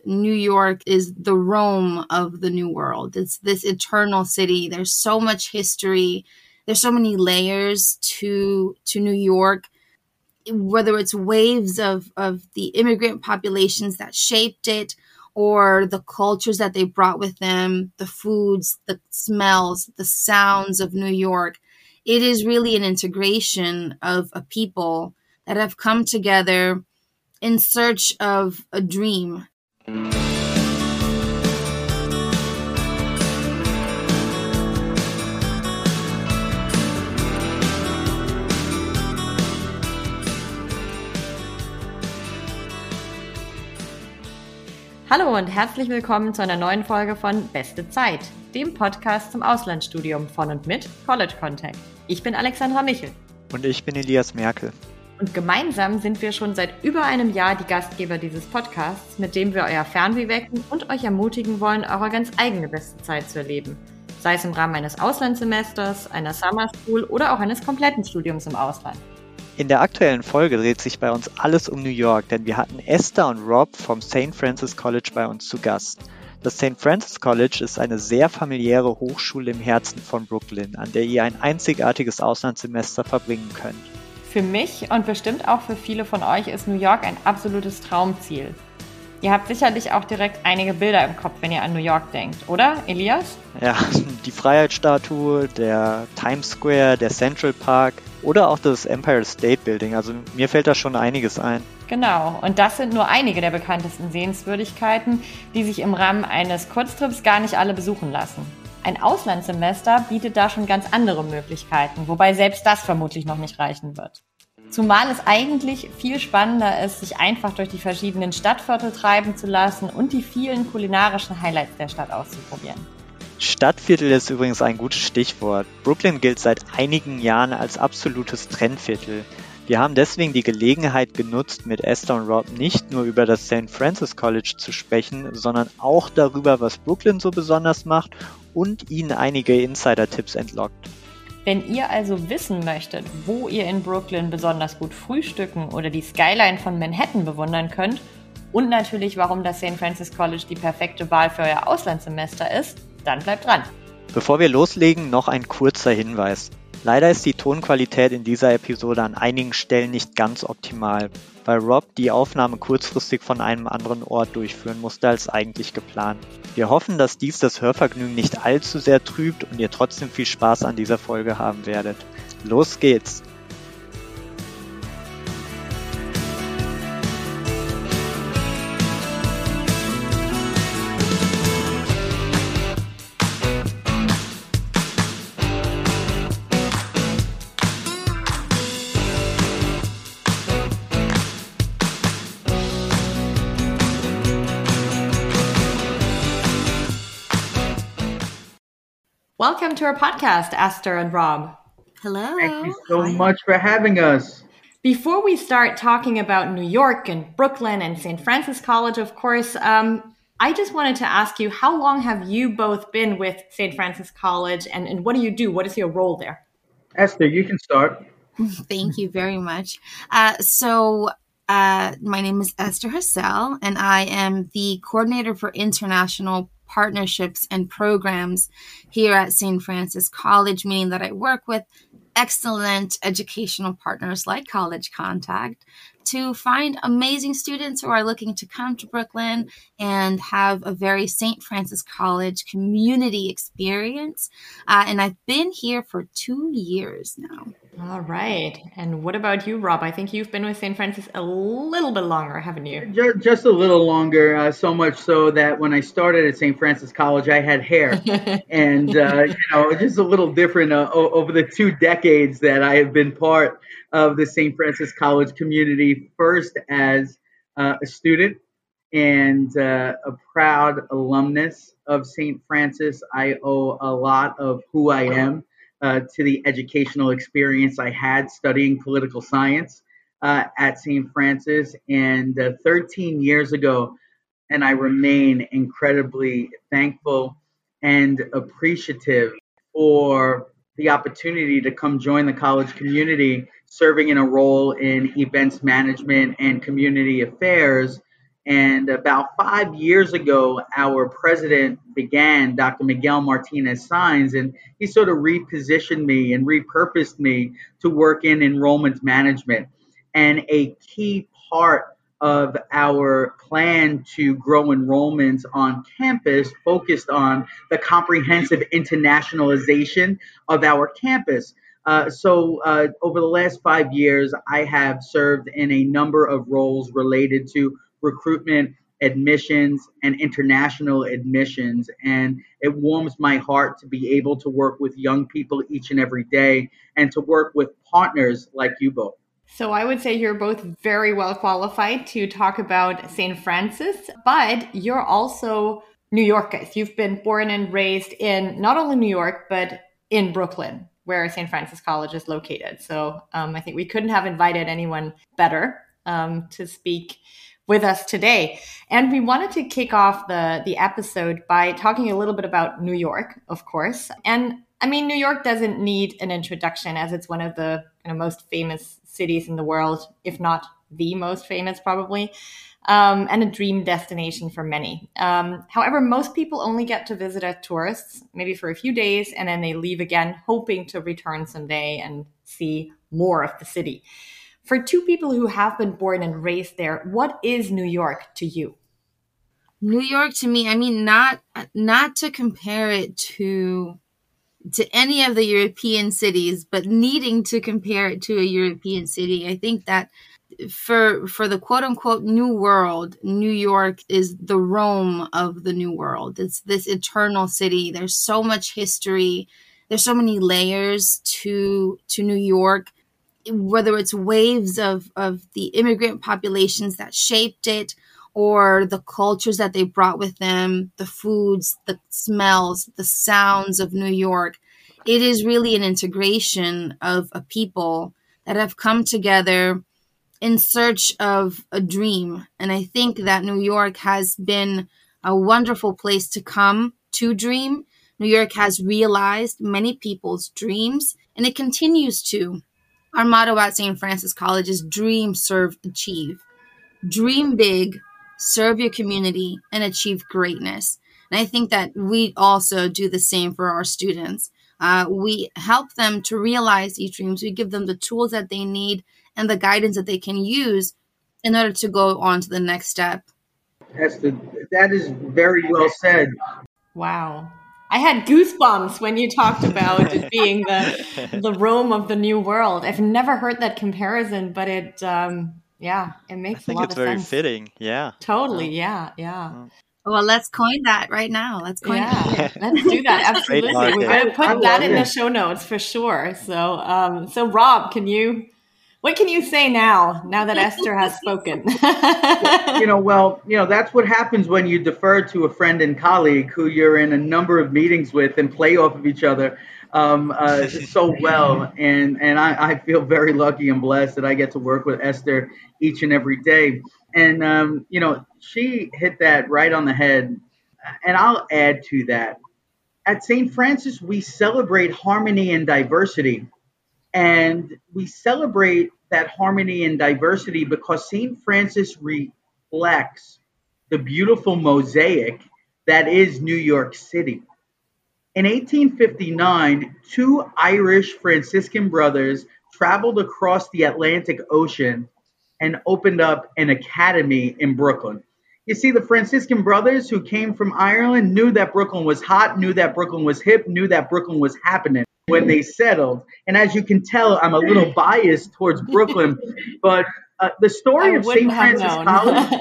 New York is the Rome of the New World. It's this eternal city. There's so much history. There's so many layers to New York, whether it's waves of the immigrant populations that shaped it or the cultures that they brought with them, the foods, the smells, the sounds of New York. It is really an integration of a people that have come together in search of a dream. Hallo und herzlich willkommen zu einer neuen Folge von Beste Zeit, dem Podcast zum Auslandsstudium von und mit College Contact. Ich bin Alexandra Michel. Und ich bin Elias Merkel. Und gemeinsam sind wir schon seit über einem Jahr die Gastgeber dieses Podcasts, mit dem wir euer Fernweh wecken und euch ermutigen wollen, eure ganz eigene beste Zeit zu erleben. Sei es im Rahmen eines Auslandssemesters, einer Summer School oder auch eines kompletten Studiums im Ausland. In der aktuellen Folge dreht sich bei uns alles um New York, denn wir hatten Esther und Rob vom St. Francis College bei uns zu Gast. Das St. Francis College ist eine sehr familiäre Hochschule im Herzen von Brooklyn, an der ihr ein einzigartiges Auslandssemester verbringen könnt. Für mich und bestimmt auch für viele von euch ist New York ein absolutes Traumziel. Ihr habt sicherlich auch direkt einige Bilder im Kopf, wenn ihr an New York denkt, oder, Elias? Ja, die Freiheitsstatue, der Times Square, der Central Park oder auch das Empire State Building. Also mir fällt da schon einiges ein. Genau, und das sind nur einige der bekanntesten Sehenswürdigkeiten, die sich im Rahmen eines Kurztrips gar nicht alle besuchen lassen. Ein Auslandssemester bietet da schon ganz andere Möglichkeiten, wobei selbst das vermutlich noch nicht reichen wird. Zumal es eigentlich viel spannender ist, sich einfach durch die verschiedenen Stadtviertel treiben zu lassen und die vielen kulinarischen Highlights der Stadt auszuprobieren. Stadtviertel ist übrigens ein gutes Stichwort. Brooklyn gilt seit einigen Jahren als absolutes Trendviertel. Wir haben deswegen die Gelegenheit genutzt, mit Esther und Rob nicht nur über das St. Francis College zu sprechen, sondern auch darüber, was Brooklyn so besonders macht und ihnen einige Insider-Tipps entlockt. Wenn ihr also wissen möchtet, wo ihr in Brooklyn besonders gut frühstücken oder die Skyline von Manhattan bewundern könnt und natürlich, warum das St. Francis College die perfekte Wahl für euer Auslandssemester ist, dann bleibt dran. Bevor wir loslegen, noch ein kurzer Hinweis. Leider ist die Tonqualität in dieser Episode an einigen Stellen nicht ganz optimal, weil Rob die Aufnahme kurzfristig von einem anderen Ort durchführen musste als eigentlich geplant. Wir hoffen, dass dies das Hörvergnügen nicht allzu sehr trübt und ihr trotzdem viel Spaß an dieser Folge haben werdet. Los geht's! Welcome to our podcast, Esther and Rob. Hello. Thank you so much for having us. Before we start talking about New York and Brooklyn and St. Francis College, of course, I just wanted to ask you, how long have you both been with St. Francis College and what do you do? What is your role there? Esther, you can start. Thank you very much. My name is Esther Hassel, and I am the coordinator for international partnerships and programs here at St. Francis College, meaning that I work with excellent educational partners like College Contact to find amazing students who are looking to come to Brooklyn and have a very St. Francis College community experience. And I've been here for 2 years now. All right. And what about you, Rob? I think you've been with St. Francis a little bit longer, haven't you? Just a little longer, so much so that when I started at St. Francis College, I had hair. And, just a little different over the 2 decades that I have been part of the St. Francis College community, first as a student and a proud alumnus of St. Francis. I owe a lot of who I am to the educational experience I had studying political science at St. Francis. And 13 years ago, and I remain incredibly thankful and appreciative for the opportunity to come join the college community, serving in a role in events management and community affairs. And about 5 years ago, our president began, Dr. Miguel Martinez Saenz, and he sort of repositioned me and repurposed me to work in enrollment management. And a key part of our plan to grow enrollments on campus focused on the comprehensive internationalization of our campus. Over the last 5 years, I have served in a number of roles related to recruitment, admissions, and international admissions. And it warms my heart to be able to work with young people each and every day and to work with partners like you both. So I would say you're both very well qualified to talk about St. Francis, but you're also New Yorkers. You've been born and raised in not only New York, but in Brooklyn, where St. Francis College is located. So I think we couldn't have invited anyone better to speak with us today. And we wanted to kick off the episode by talking a little bit about New York, of course. And I mean, New York doesn't need an introduction, as it's one of the most famous cities in the world, if not the most famous probably, and a dream destination for many. However, most people only get to visit as tourists, maybe for a few days, and then they leave again, hoping to return someday and see more of the city. For two people who have been born and raised there, what is New York to you? New York to me, I mean, not to compare it to any of the European cities, but needing to compare it to a European city. I think that for the quote unquote new world, New York is the Rome of the new world. It's this eternal city. There's so much history. There's so many layers to New York, whether it's waves of the immigrant populations that shaped it, or the cultures that they brought with them, the foods, the smells, the sounds of New York. It is really an integration of a people that have come together in search of a dream. And I think that New York has been a wonderful place to come to dream. New York has realized many people's dreams, and it continues to. Our motto at St. Francis College is dream, serve, achieve. Dream big, serve your community, and achieve greatness. And I think that we also do the same for our students. We help them to realize these dreams. We give them the tools that they need and the guidance that they can use in order to go on to the next step. That is very well said. Wow. I had goosebumps when you talked about it being the Rome of the new world. I've never heard that comparison, but it makes a lot of sense. I think it's very fitting. Yeah. Totally. Yeah. Well, let's coin that right now. Let's coin it. Let's do that. Absolutely. We're going to put that in the show notes for sure. So Rob, what can you say now that Esther has spoken? That's what happens when you defer to a friend and colleague who you're in a number of meetings with and play off of each other so well. And I feel very lucky and blessed that I get to work with Esther each and every day. And, she hit that right on the head. And I'll add to that. At St. Francis, we celebrate harmony and diversity. And we celebrate that harmony and diversity because St. Francis reflects the beautiful mosaic that is New York City. In 1859, two Irish Franciscan brothers traveled across the Atlantic Ocean and opened up an academy in Brooklyn. You see, the Franciscan brothers who came from Ireland knew that Brooklyn was hot, knew that Brooklyn was hip, knew that Brooklyn was happening when they settled. And as you can tell, I'm a little biased towards Brooklyn, but the story of St. Francis College,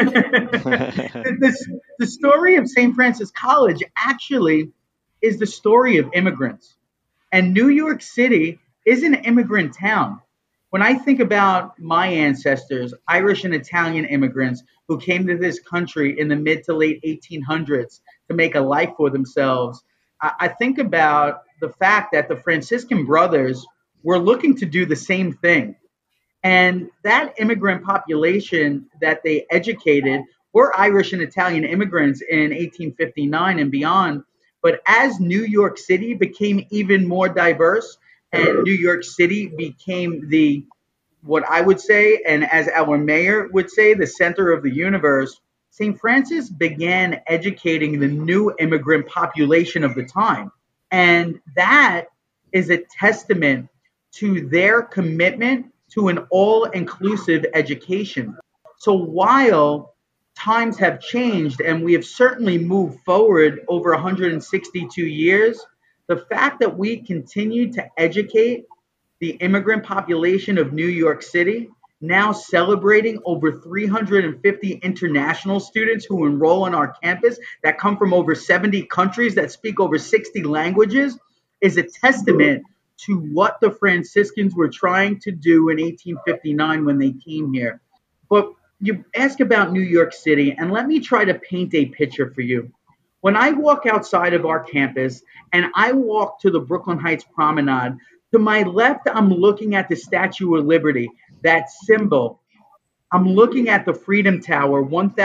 the story of St. Francis College actually is the story of immigrants. And New York City is an immigrant town. When I think about my ancestors, Irish and Italian immigrants who came to this country in the mid to late 1800s to make a life for themselves, I think about the fact that the Franciscan brothers were looking to do the same thing. And that immigrant population that they educated were Irish and Italian immigrants in 1859 and beyond. But as New York City became even more diverse and New York City became the what I would say, and as our mayor would say, the center of the universe, St. Francis began educating the new immigrant population of the time. And that is a testament to their commitment to an all inclusive education. So while times have changed and we have certainly moved forward over 162 years, the fact that we continue to educate the immigrant population of New York City, now celebrating over 350 international students who enroll on our campus that come from over 70 countries that speak over 60 languages, is a testament to what the Franciscans were trying to do in 1859 when they came here. But you ask about New York City, and let me try to paint a picture for you. When I walk outside of our campus and I walk to the Brooklyn Heights Promenade, to my left, I'm looking at the Statue of Liberty, that symbol. I'm looking at the Freedom Tower,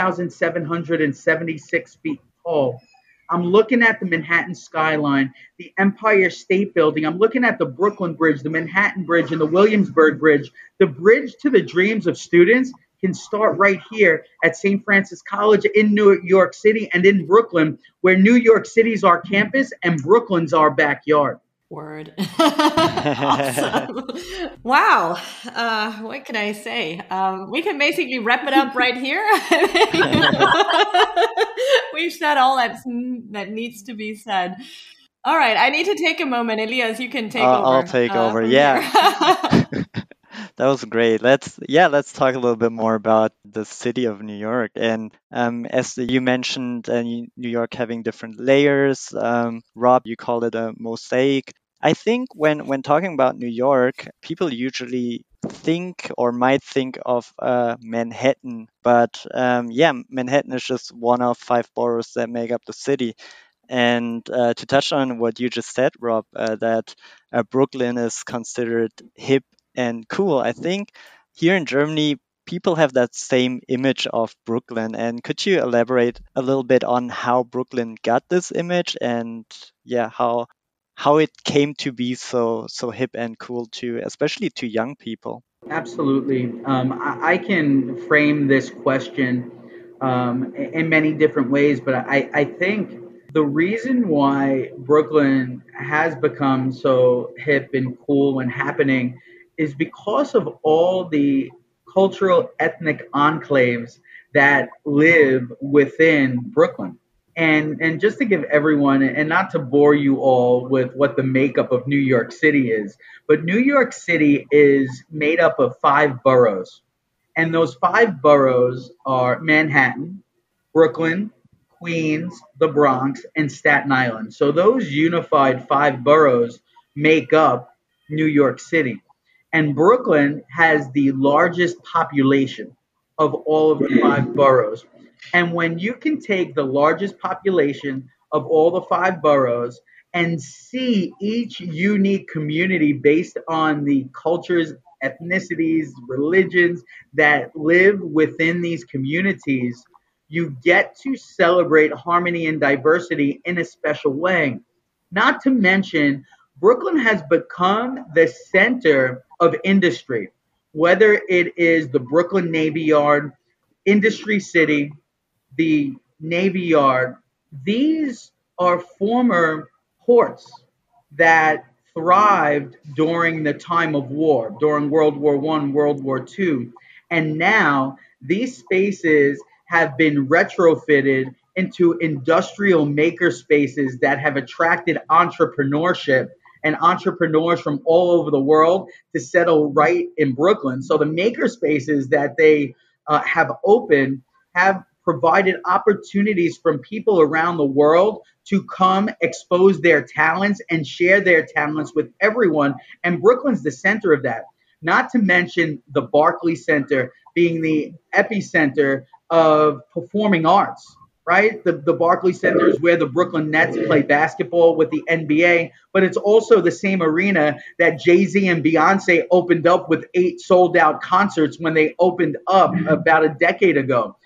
1,776 feet tall. I'm looking at the Manhattan skyline, the Empire State Building. I'm looking at the Brooklyn Bridge, the Manhattan Bridge, and the Williamsburg Bridge. The bridge to the dreams of students can start right here at St. Francis College in New York City and in Brooklyn, where New York City's our campus and Brooklyn's our backyard. Word. Awesome. Wow. What can I say? We can basically wrap it up right here. We've said all that needs to be said. All right. I need to take a moment. Elias, you can take over. I'll take over. Yeah. That was great. Let's talk a little bit more about the city of New York. And as you mentioned, New York having different layers. Rob, you called it a mosaic. I think when talking about New York, people usually think or might think of Manhattan, but Manhattan is just one of 5 boroughs that make up the city. And to touch on what you just said, Rob, that Brooklyn is considered hip and cool. I think here in Germany, people have that same image of Brooklyn. And could you elaborate a little bit on how Brooklyn got this image and how it came to be so hip and cool to, especially to young people? Absolutely. I can frame this question in many different ways, but I think the reason why Brooklyn has become so hip and cool and happening is because of all the cultural ethnic enclaves that live within Brooklyn. And just to give everyone, and not to bore you all with what the makeup of New York City is, but New York City is made up of 5 boroughs. And those 5 boroughs are Manhattan, Brooklyn, Queens, the Bronx, and Staten Island. So those unified 5 boroughs make up New York City. And Brooklyn has the largest population of all of the 5 boroughs. And when you can take the largest population of all the 5 boroughs and see each unique community based on the cultures, ethnicities, religions that live within these communities, you get to celebrate harmony and diversity in a special way. Not to mention, Brooklyn has become the center of industry, whether it is the Brooklyn Navy Yard, Industry City, the Navy Yard. These are former ports that thrived during the time of war, during World War I, World War II. And now these spaces have been retrofitted into industrial maker spaces that have attracted entrepreneurship and entrepreneurs from all over the world to settle right in Brooklyn. So the maker spaces that they have opened have provided opportunities from people around the world to come expose their talents and share their talents with everyone. And Brooklyn's the center of that. Not to mention the Barclays Center being the epicenter of performing arts. Right? The Barclays Center is where the Brooklyn Nets play basketball with the NBA, but it's also the same arena that Jay-Z and Beyonce opened up with 8 sold-out concerts when they opened up about a decade ago.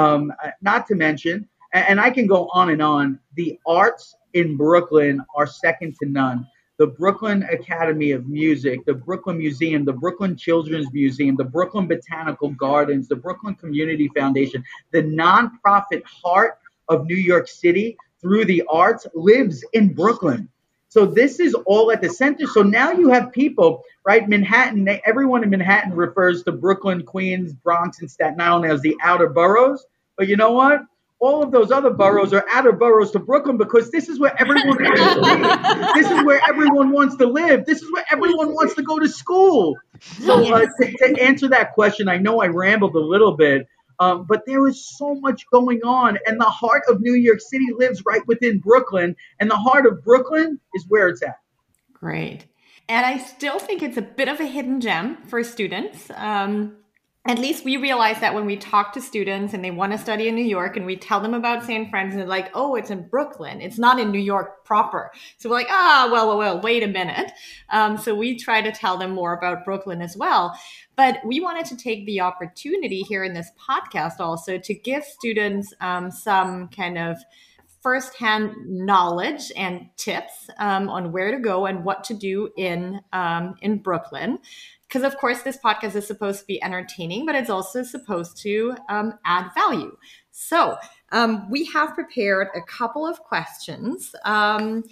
Not to mention, and I can go on and on, the arts in Brooklyn are second to none. the Brooklyn Academy of Music, the Brooklyn Museum, the Brooklyn Children's Museum, the Brooklyn Botanical Gardens, the Brooklyn Community Foundation, the nonprofit heart of New York City through the arts lives in Brooklyn. So this is all at the center. So now you have people, right? Manhattan, everyone in Manhattan refers to Brooklyn, Queens, Bronx, and Staten Island as the outer boroughs. But you know what? All of those other boroughs are outer boroughs to Brooklyn because this is where everyone wants to be. This is where everyone wants to live. This is where everyone wants to go to school. So to answer that question, I know I rambled a little bit, but there is so much going on. And the heart of New York City lives right within Brooklyn. And the heart of Brooklyn is where it's at. Great. And I still think it's a bit of a hidden gem for students. At least we realize that when we talk to students and they want to study in New York and we tell them about St. Francis, they're like, oh, it's in Brooklyn. It's not in New York proper. So we're like, well, wait a minute. So we try to tell them more about Brooklyn as well. But we wanted to take the opportunity here in this podcast also to give students some kind of firsthand knowledge and tips on where to go and what to do in Brooklyn. Because, of course, this podcast is supposed to be entertaining, but it's also supposed to add value. So we have prepared a couple of questions, and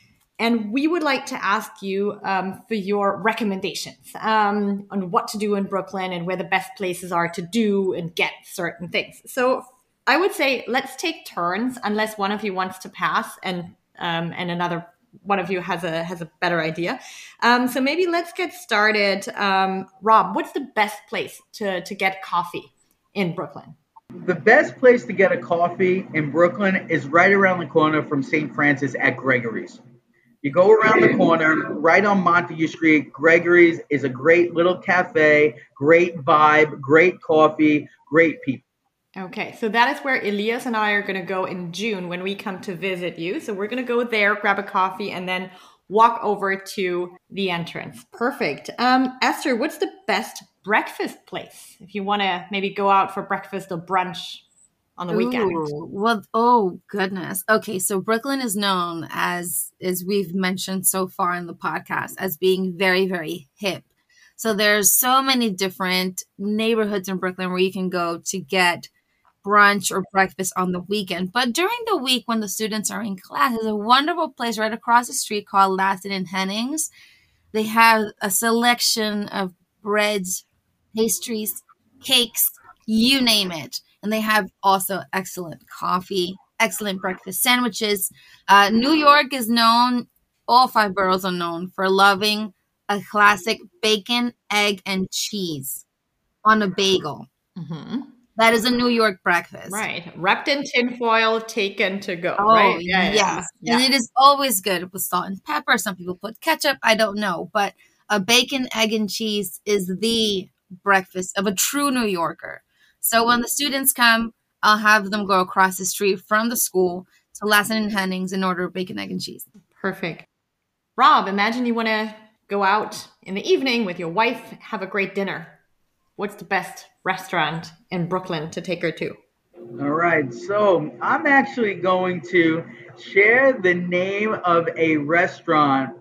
we would like to ask you for your recommendations on what to do in Brooklyn and where the best places are to do and get certain things. So I would say let's take turns, unless one of you wants to pass and another one of you has a better idea. So maybe let's get started. Rob, what's the best place to get coffee in Brooklyn? The best place to get a coffee in Brooklyn is right around the corner from St. Francis at Gregory's. You go around the corner, right on Montague Street. Gregory's is a great little cafe, great vibe, great coffee, great people. Okay, so that is where Elias and I are going to go in June when we come to visit you. So we're going to go there, grab a coffee, and then walk over to the entrance. Perfect. Esther, what's the best breakfast place if you want to maybe go out for breakfast or brunch on the weekend? Well, oh goodness. Okay, so Brooklyn is known as we've mentioned so far in the podcast, as being very, very hip. So there's so many different neighborhoods in Brooklyn where you can go to get brunch or breakfast on the weekend. But during the week when the students are in class, there's a wonderful place right across the street called Laston and Hennings. They have a selection of breads, pastries, cakes, you name it. And they have also excellent coffee, excellent breakfast sandwiches. New York is known, all 5 boroughs are known for loving a classic bacon, egg, and cheese on a bagel. Mm-hmm. That is a New York breakfast. Right. Wrapped in tinfoil, taken to go. Oh, right? Yes. Yeah. And it is always good with salt and pepper. Some people put ketchup. I don't know. But a bacon, egg, and cheese is the breakfast of a true New Yorker. So when the students come, I'll have them go across the street from the school to Laston and Hennings and order bacon, egg, and cheese. Perfect. Rob, imagine you want to go out in the evening with your wife, have a great dinner. What's the best restaurant in Brooklyn to take her to? All right. So I'm actually going to share the name of a restaurant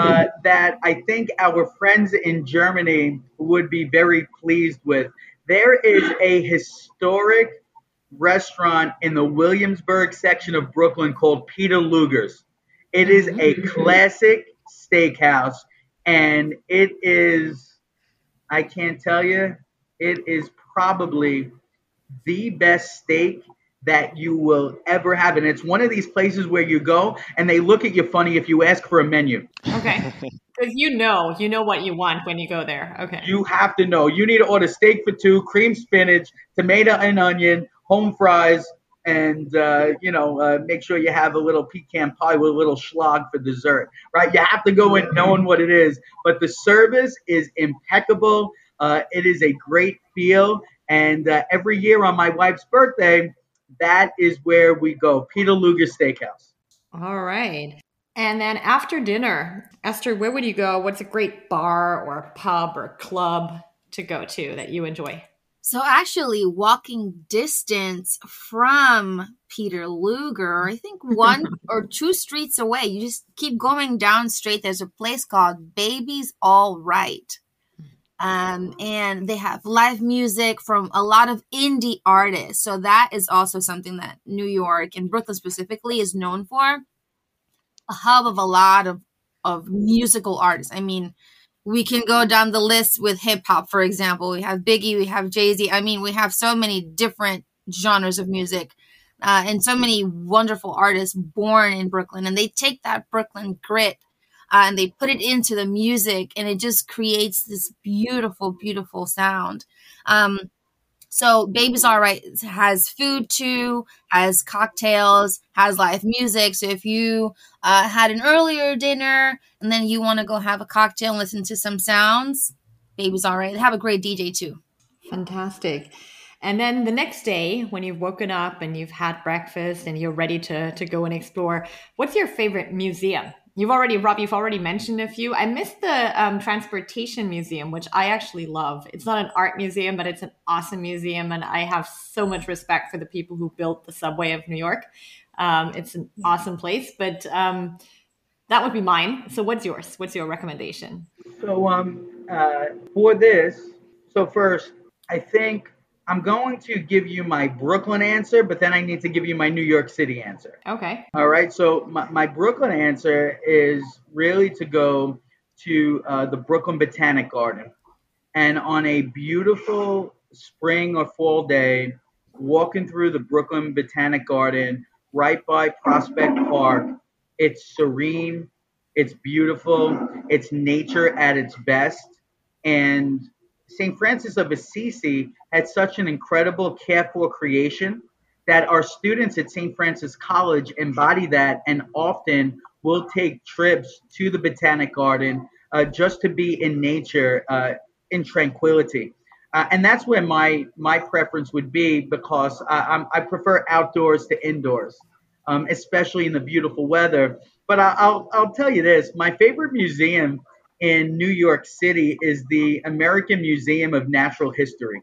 that I think our friends in Germany would be very pleased with. There is a historic restaurant in the Williamsburg section of Brooklyn called Peter Luger's. It is a classic steakhouse, and it is, I can't tell you, it is probably the best steak that you will ever have. And it's one of these places where you go and they look at you funny if you ask for a menu. Okay. Because you know what you want when you go there. Okay. You have to know. You need to order steak for 2, cream spinach, tomato and onion, home fries, and, make sure you have a little pecan pie with a little schlag for dessert, right? You have to go in knowing what it is. But the service is impeccable. It is a great feel. And every year on my wife's birthday, that is where we go, Peter Luger Steakhouse. All right. And then after dinner, Esther, where would you go? What's a great bar or pub or club to go to that you enjoy? So actually, walking distance from Peter Luger, I think 1 or 2 streets away, you just keep going down straight. There's a place called Baby's All Right. And they have live music from a lot of indie artists. So that is also something that New York and Brooklyn specifically is known for. A hub of a lot of musical artists. I mean, we can go down the list with hip hop, for example. We have Biggie, we have Jay-Z. I mean, we have so many different genres of music and so many wonderful artists born in Brooklyn. And they take that Brooklyn grit and they put it into the music, and it just creates this beautiful, beautiful sound. So Baby's All Right has food too, has cocktails, has live music. So if you had an earlier dinner and then you want to go have a cocktail and listen to some sounds, Baby's All Right. They have a great DJ too. Fantastic. And then the next day, when you've woken up and you've had breakfast and you're ready to go and explore, what's your favorite museum? Rob, you've already mentioned a few. I missed the Transportation Museum, which I actually love. It's not an art museum, but it's an awesome museum. And I have so much respect for the people who built the subway of New York. It's an awesome place, but that would be mine. So what's yours? What's your recommendation? So for this, so first, I think I'm going to give you my Brooklyn answer, but then I need to give you my New York City answer. Okay. All right. So my Brooklyn answer is really to go to the Brooklyn Botanic Garden. And on a beautiful spring or fall day, walking through the Brooklyn Botanic Garden right by Prospect Park, it's serene, it's beautiful, it's nature at its best. And St. Francis of Assisi had such an incredible care for creation that our students at St. Francis College embody that and often will take trips to the Botanic Garden just to be in nature in tranquility. And that's where my preference would be, because I prefer outdoors to indoors, especially in the beautiful weather. But I'll tell you this, my favorite museum in New York City is the American Museum of Natural History.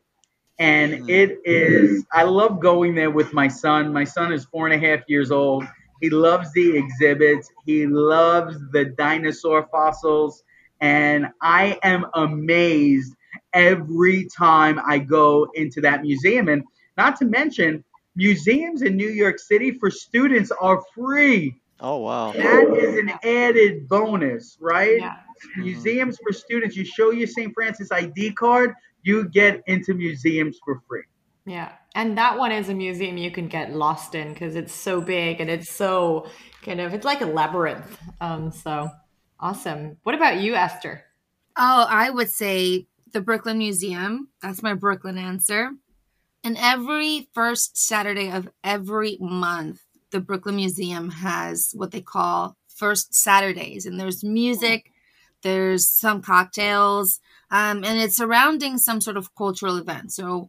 And it is, I love going there with my son. My son is 4.5 years old. He loves the exhibits. He loves the dinosaur fossils. And I am amazed every time I go into that museum. And not to mention, museums in New York City for students are free. Oh, wow. That is an added bonus, right? Yeah. Museums for students, you show your St. Francis ID card, you get into museums for free. Yeah. And that one is a museum you can get lost in because it's so big and it's so it's like a labyrinth. So awesome. What about you, Esther? Oh, I would say the Brooklyn Museum. That's my Brooklyn answer. And every first Saturday of every month, the Brooklyn Museum has what they call First Saturdays. And there's music, there's some cocktails, and it's surrounding some sort of cultural event. So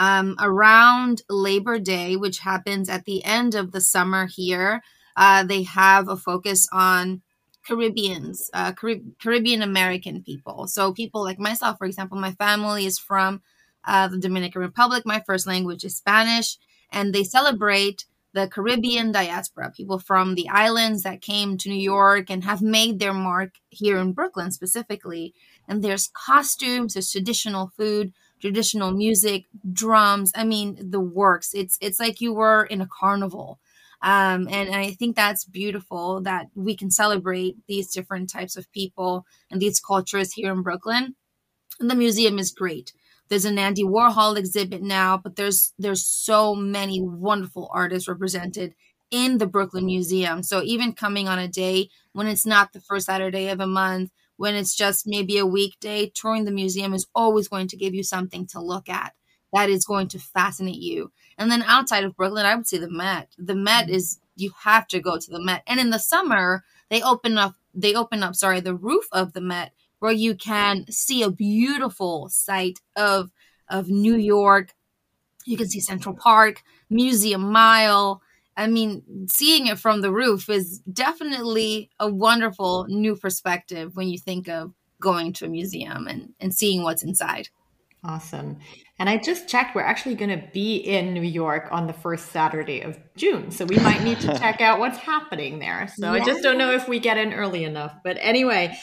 around Labor Day, which happens at the end of the summer here, they have a focus on Caribbeans, Caribbean American people. So people like myself, for example, my family is from the Dominican Republic. My first language is Spanish, and they celebrate the Caribbean diaspora, people from the islands that came to New York and have made their mark here in Brooklyn specifically. And there's costumes, there's traditional food, traditional music, drums. I mean, the works. It's like you were in a carnival. And I think that's beautiful that we can celebrate these different types of people and these cultures here in Brooklyn. And the museum is great. There's an Andy Warhol exhibit now, but there's so many wonderful artists represented in the Brooklyn Museum. So even coming on a day when it's not the first Saturday of a month, when it's just maybe a weekday, touring the museum is always going to give you something to look at that is going to fascinate you. And then outside of Brooklyn, I would say the Met. The Met is, you have to go to the Met. And in the summer, they open up the roof of the Met, where you can see a beautiful sight of New York. You can see Central Park, Museum Mile. I mean, seeing it from the roof is definitely a wonderful new perspective when you think of going to a museum and seeing what's inside. Awesome. And I just checked, we're actually going to be in New York on the first Saturday of June. So we might need to check out what's happening there. So I just don't know if we get in early enough. But anyway,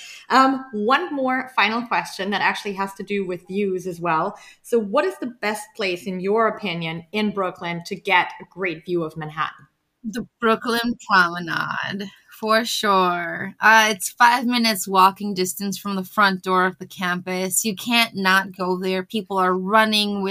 one more final question that actually has to do with views as well. So, what is the best place, in your opinion, in Brooklyn to get a great view of Manhattan? The Brooklyn Promenade, for sure. It's 5 minutes walking distance from the front door of the campus. You can't not go there. People are running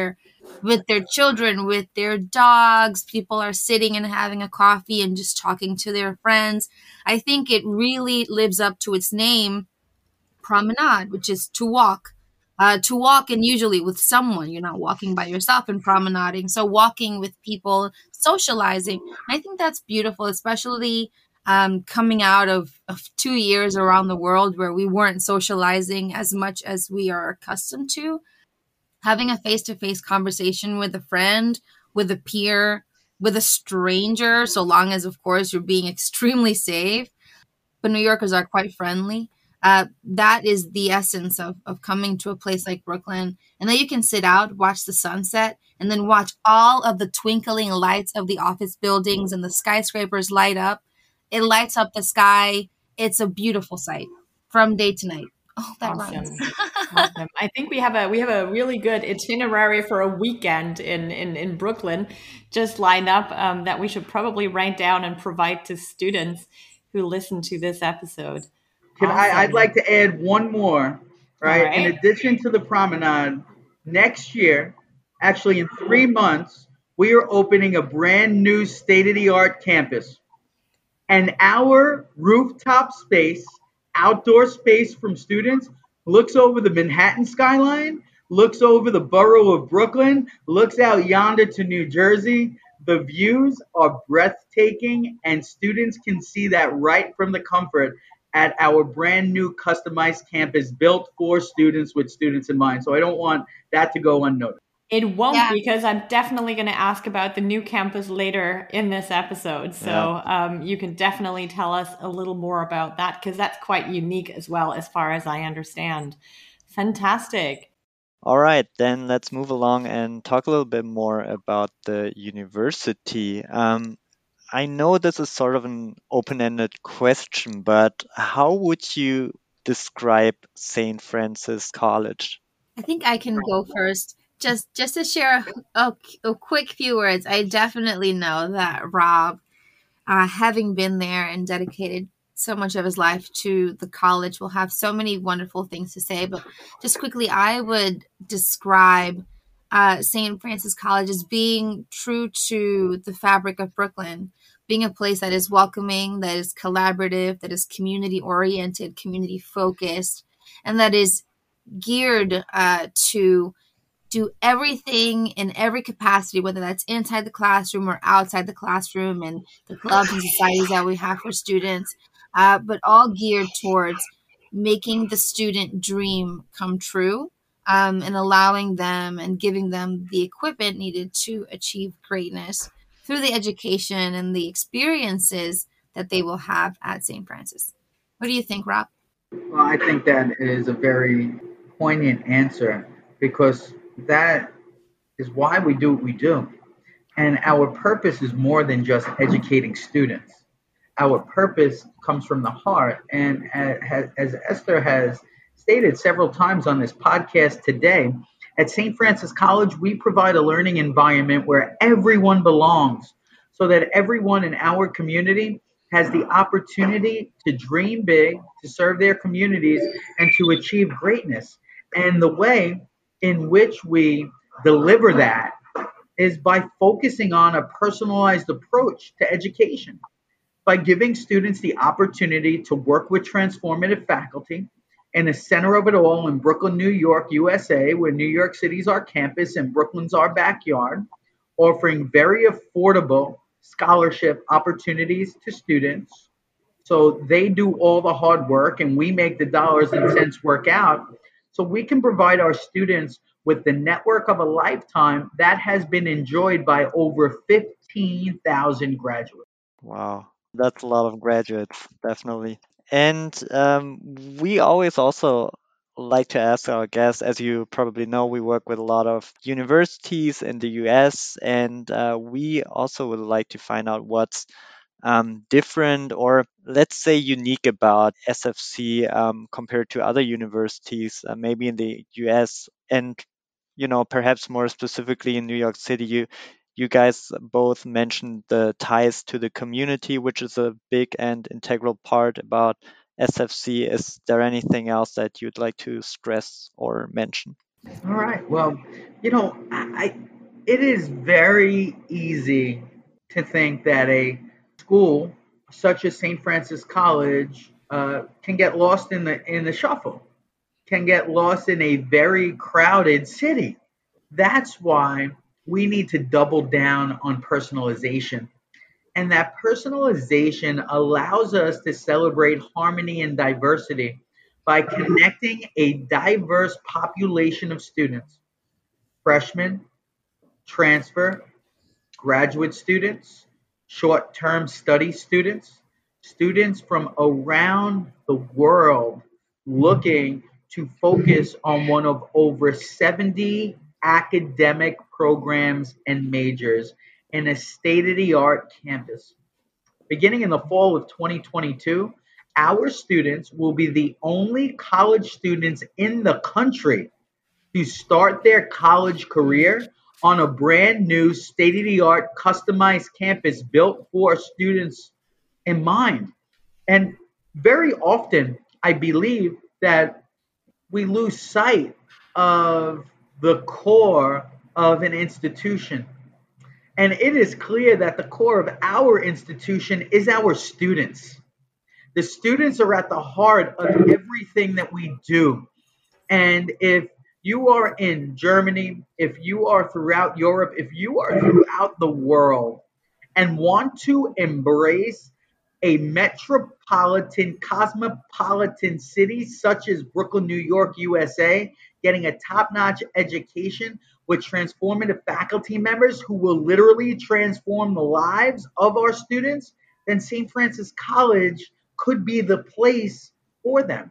with their children, with their dogs. People are sitting and having a coffee and just talking to their friends. I think it really lives up to its name, promenade, which is to walk. To walk, and usually with someone. You're not walking by yourself and promenading. So walking with people, socializing. And I think that's beautiful, especially coming out of 2 years around the world where we weren't socializing as much as we are accustomed to. Having a face-to-face conversation with a friend, with a peer, with a stranger, so long as, of course, you're being extremely safe, but New Yorkers are quite friendly. That is the essence of coming to a place like Brooklyn. And then you can sit out, watch the sunset, and then watch all of the twinkling lights of the office buildings and the skyscrapers light up. It lights up the sky. It's a beautiful sight from day to night. Oh, that rhymes. Awesome. Awesome. I think we have a really good itinerary for a weekend in Brooklyn just lined up that we should probably write down and provide to students who listen to this episode. I'd like to add one more, right? All right. In addition to the promenade, next year, actually in 3 months, we are opening a brand new state-of-the-art campus. And our rooftop space, outdoor space from students, looks over the Manhattan skyline, looks over the borough of Brooklyn, looks out yonder to New Jersey. The views are breathtaking, and students can see that right from the comfort at our brand new customized campus built for students with students in mind. So I don't want that to go unnoticed. It won't, Yeah. because I'm definitely going to ask about the new campus later in this episode. So you can definitely tell us a little more about that, because that's quite unique as well, as far as I understand. Fantastic. All right, then let's move along and talk a little bit more about the university. I know this is sort of an open-ended question, but how would you describe St. Francis College? I think I can go first. Just to share a quick few words. I definitely know that Rob, having been there and dedicated so much of his life to the college, will have so many wonderful things to say. But just quickly, I would describe St. Francis College as being true to the fabric of Brooklyn, being a place that is welcoming, that is collaborative, that is community oriented, community focused, and that is geared to do everything in every capacity, whether that's inside the classroom or outside the classroom, and the clubs and societies that we have for students, but all geared towards making the student dream come true, and allowing them and giving them the equipment needed to achieve greatness through the education and the experiences that they will have at St. Francis. What do you think, Rob? Well, I think that is a very poignant answer because that is why we do what we do. And our purpose is more than just educating students. Our purpose comes from the heart. And as Esther has stated several times on this podcast today, at St. Francis College, we provide a learning environment where everyone belongs so that everyone in our community has the opportunity to dream big, to serve their communities, and to achieve greatness. And the way in which we deliver that is by focusing on a personalized approach to education, by giving students the opportunity to work with transformative faculty in the center of it all in Brooklyn, New York, USA, where New York City's our campus and Brooklyn's our backyard, offering very affordable scholarship opportunities to students. So they do all the hard work and we make the dollars and cents work out. So we can provide our students with the network of a lifetime that has been enjoyed by over 15,000 graduates. Wow, that's a lot of graduates, definitely. And we always also like to ask our guests, as you probably know, we work with a lot of universities in the US, and we also would like to find out what's different or let's say unique about SFC compared to other universities, maybe in the US and perhaps more specifically in New York City. You guys both mentioned the ties to the community, which is a big and integral part about SFC. Is there anything else that you'd like to stress or mention? All right. Well, it is very easy to think that a school such as St. Francis College can get lost in the shuffle, can get lost in a very crowded city. That's why we need to double down on personalization. And that personalization allows us to celebrate harmony and diversity by connecting a diverse population of students, freshmen, transfer, graduate students, short term study students, students from around the world looking to focus on one of over 70 academic programs and majors in a state of the art campus. Beginning in the fall of 2022, our students will be the only college students in the country to start their college career on a brand new state of the art customized campus built for students in mind. And very often, I believe that we lose sight of the core of an institution. And it is clear that the core of our institution is our students. The students are at the heart of everything that we do. And if you are in Germany, if you are throughout Europe, if you are throughout the world and want to embrace a metropolitan, cosmopolitan city such as Brooklyn, New York, USA, getting a top notch education with transformative faculty members who will literally transform the lives of our students, then St. Francis College could be the place for them.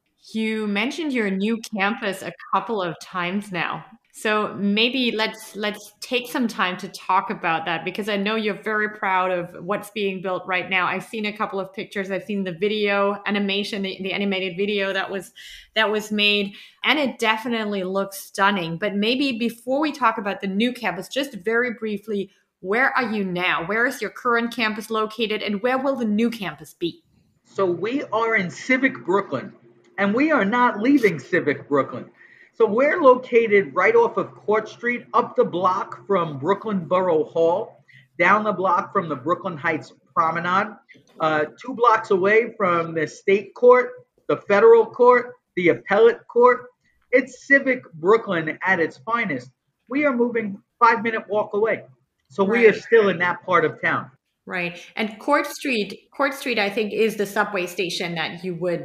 You mentioned your new campus a couple of times now. So maybe let's take some time to talk about that, because I know you're very proud of what's being built right now. I've seen a couple of pictures. I've seen the video animation, the animated video that was made, and it definitely looks stunning. But maybe before we talk about the new campus, just very briefly, where are you now? Where is your current campus located, and where will the new campus be? So we are in Civic Brooklyn, and we are not leaving Civic Brooklyn. So we're located right off of Court Street, up the block from Brooklyn Borough Hall, down the block from the Brooklyn Heights Promenade, 2 blocks away from the state court, the federal court, the appellate court. It's Civic Brooklyn at its finest. We are moving 5-minute walk away. So we are still in that part of town. Right. And Court Street, I think, is the subway station that you would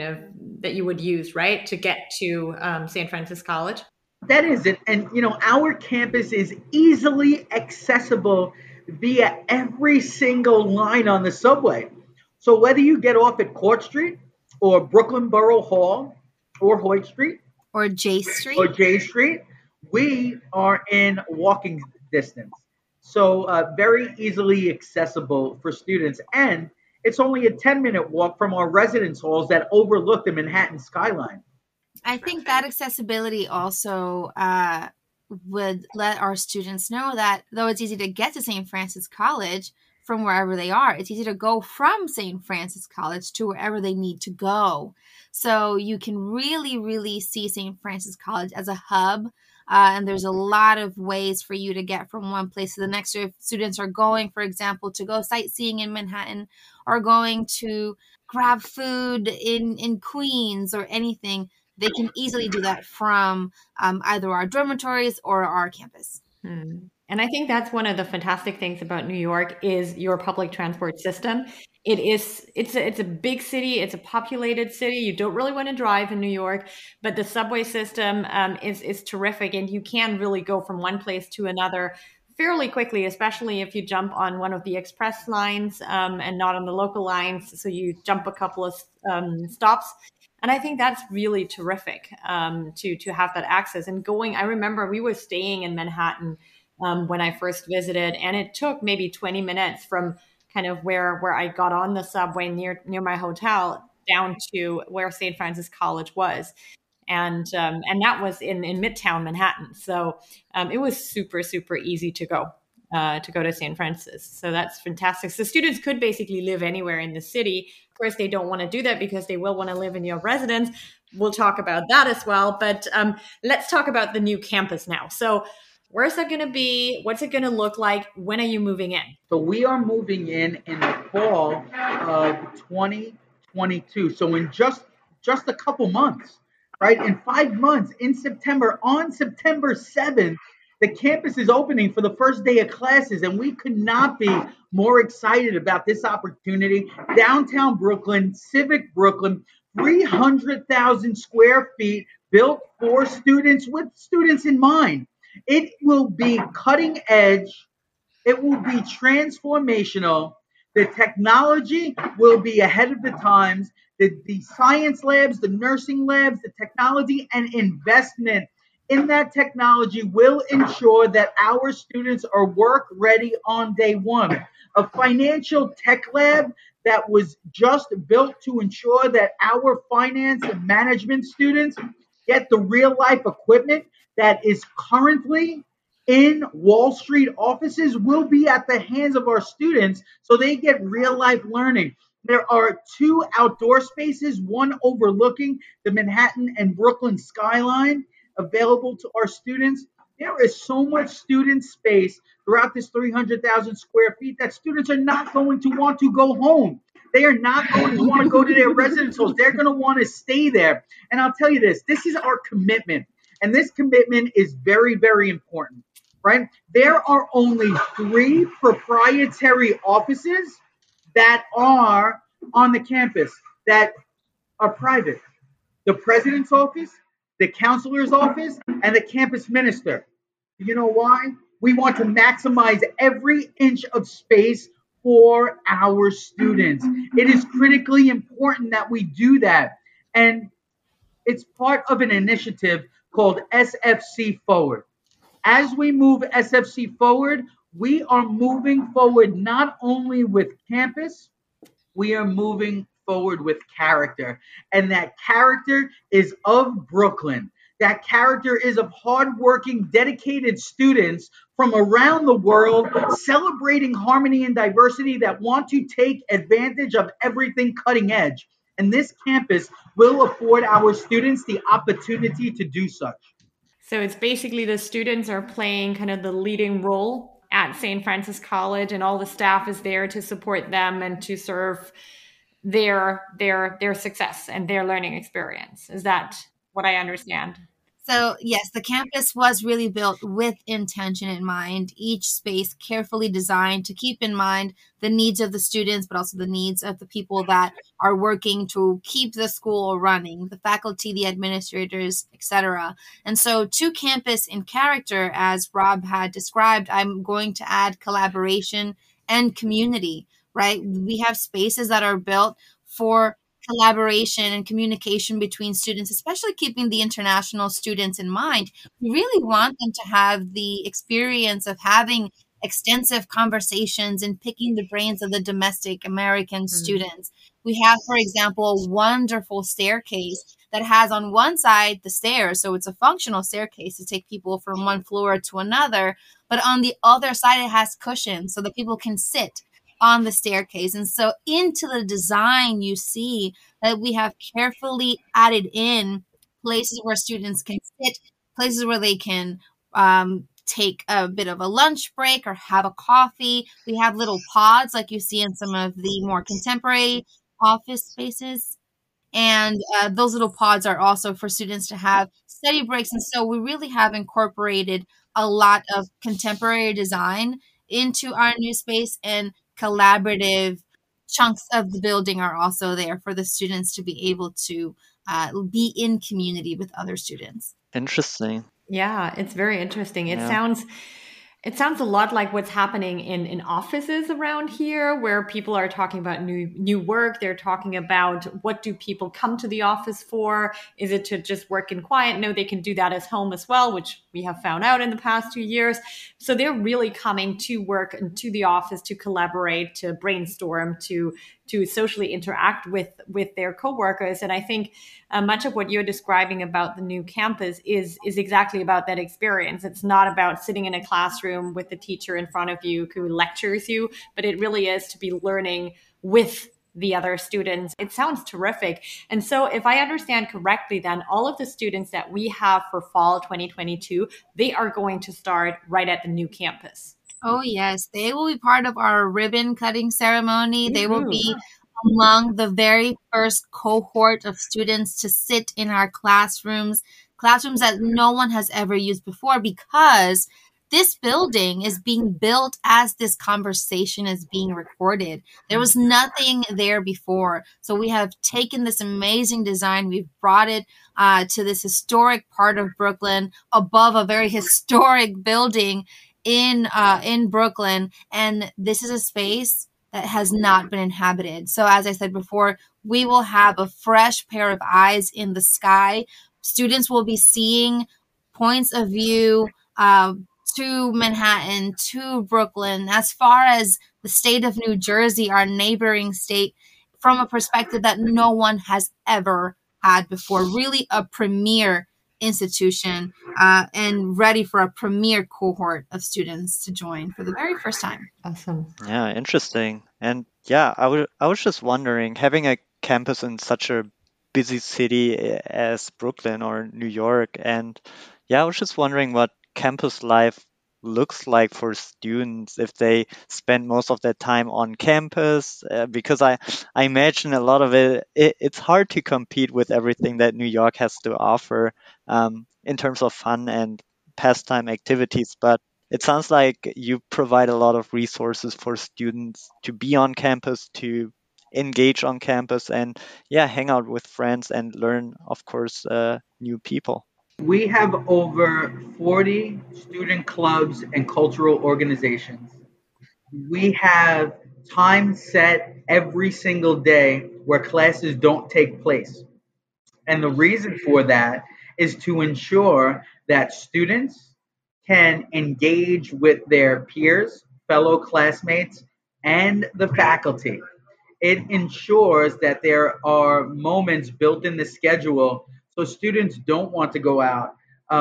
use, right, to get to St. Francis College? That is it. And, our campus is easily accessible via every single line on the subway. So whether you get off at Court Street or Brooklyn Borough Hall or Hoyt Street or J Street, we are in walking distance. So very easily accessible for students. And it's only a 10-minute walk from our residence halls that overlook the Manhattan skyline. I think that accessibility also would let our students know that though it's easy to get to St. Francis College from wherever they are, it's easy to go from St. Francis College to wherever they need to go. So you can really, really see St. Francis College as a hub. And there's a lot of ways for you to get from one place to the next. So if students are going, for example, to go sightseeing in Manhattan or going to grab food in Queens or anything, they can easily do that from either our dormitories or our campus. And I think that's one of the fantastic things about New York is your public transport system. It's a big city. It's a populated city. You don't really want to drive in New York, but the subway system is terrific, and you can really go from one place to another fairly quickly, especially if you jump on one of the express lines and not on the local lines. So you jump a couple of stops, And I think that's really terrific to have that access. And I remember we were staying in Manhattan when I first visited, and it took maybe 20 minutes from kind of where I got on the subway near my hotel down to where St. Francis College was. And that was in Midtown Manhattan. So it was super, super easy to go to St. Francis. So that's fantastic. So students could basically live anywhere in the city. Of course, they don't want to do that because they will want to live in your residence. We'll talk about that as well. But let's talk about the new campus now. So where's that going to be? What's it going to look like? When are you moving in? So we are moving in the fall of 2022. So in just a couple months, right? In 5 months, in September, on September 7th, the campus is opening for the first day of classes, and we could not be more excited about this opportunity. Downtown Brooklyn, Civic Brooklyn, 300,000 square feet, built for students, with students in mind. It will be cutting edge. It will be transformational. The technology will be ahead of the times. The science labs, the nursing labs, the technology and investment in that technology will ensure that our students are work ready on day one. A financial tech lab that was just built to ensure that our finance and management students get the real life equipment that is currently in Wall Street offices will be at the hands of our students so they get real life learning. There are 2 outdoor spaces, one overlooking the Manhattan and Brooklyn skyline, available to our students. There is so much student space throughout this 300,000 square feet that students are not going to want to go home. They are not going to want to go to their residence halls. They're going to want to stay there. And I'll tell you this is our commitment. And this commitment is very, very important, right? There are only 3 proprietary offices that are on the campus that are private. The president's office, the counselor's office, and the campus minister. You know why? We want to maximize every inch of space for our students. It is critically important that we do that. And it's part of an initiative called SFC Forward. As we move SFC forward, we are moving forward not only with campus, we are moving forward with character. And that character is of Brooklyn. That character is of hardworking, dedicated students from around the world celebrating harmony and diversity that want to take advantage of everything cutting edge. And this campus will afford our students the opportunity to do such. So it's basically the students are playing kind of the leading role at St. Francis College, and all the staff is there to support them and to serve their success and their learning experience. Is that what I understand? So yes, the campus was really built with intention in mind, each space carefully designed to keep in mind the needs of the students, but also the needs of the people that are working to keep the school running, the faculty, the administrators, etc. And so to campus in character, as Rob had described, I'm going to add collaboration and community, right? We have spaces that are built for collaboration and communication between students, especially keeping the international students in mind. We really want them to have the experience of having extensive conversations and picking the brains of the domestic American students. We have, for example, a wonderful staircase that has on one side the stairs, so it's a functional staircase to take people from one floor to another, but on the other side it has cushions so that people can sit on the staircase. And so into the design, you see that we have carefully added in places where students can sit, places where they can take a bit of a lunch break or have a coffee. We have little pods like you see in some of the more contemporary office spaces. And those little pods are also for students to have study breaks. And so we really have incorporated a lot of contemporary design into our new space, and collaborative chunks of the building are also there for the students to be able to be in community with other students. Interesting. Yeah, it's very interesting. It It sounds a lot like what's happening in offices around here, where people are talking about new work. They're talking about, what do people come to the office for? Is it to just work in quiet? No, they can do that at home as well, which we have found out in the past 2 years. So they're really coming to work and to the office to collaborate, to brainstorm, to socially interact with their coworkers. And I think much of what you're describing about the new campus is exactly about that experience. It's not about sitting in a classroom with the teacher in front of you who lectures you, but it really is to be learning with the other students. It sounds terrific. And so if I understand correctly, then all of the students that we have for fall 2022, they are going to start right at the new campus. Oh, yes. They will be part of our ribbon cutting ceremony. They will be among the very first cohort of students to sit in our classrooms that no one has ever used before, because this building is being built as this conversation is being recorded. There was nothing there before. So we have taken this amazing design. We've brought it to this historic part of Brooklyn above a very historic building in Brooklyn. And this is a space that has not been inhabited. So as I said before, we will have a fresh pair of eyes in the sky. Students will be seeing points of view to Manhattan, to Brooklyn, as far as the state of New Jersey, our neighboring state, from a perspective that no one has ever had before. Really a premier institution and ready for a premier cohort of students to join for the very first time. Awesome. Yeah, interesting. And yeah, I was just wondering, having a campus in such a busy city as Brooklyn or New York, and yeah, I was just wondering what campus life looks like for students if they spend most of their time on campus, because I imagine a lot of it's hard to compete with everything that New York has to offer in terms of fun and pastime activities. But it sounds like you provide a lot of resources for students to be on campus, to engage on campus, and yeah, hang out with friends and learn, of course, new people. We have over 40 student clubs and cultural organizations. We have time set every single day where classes don't take place. And the reason for that is to ensure that students can engage with their peers, fellow classmates, and the faculty. It ensures that there are moments built in the schedule so students don't want to go out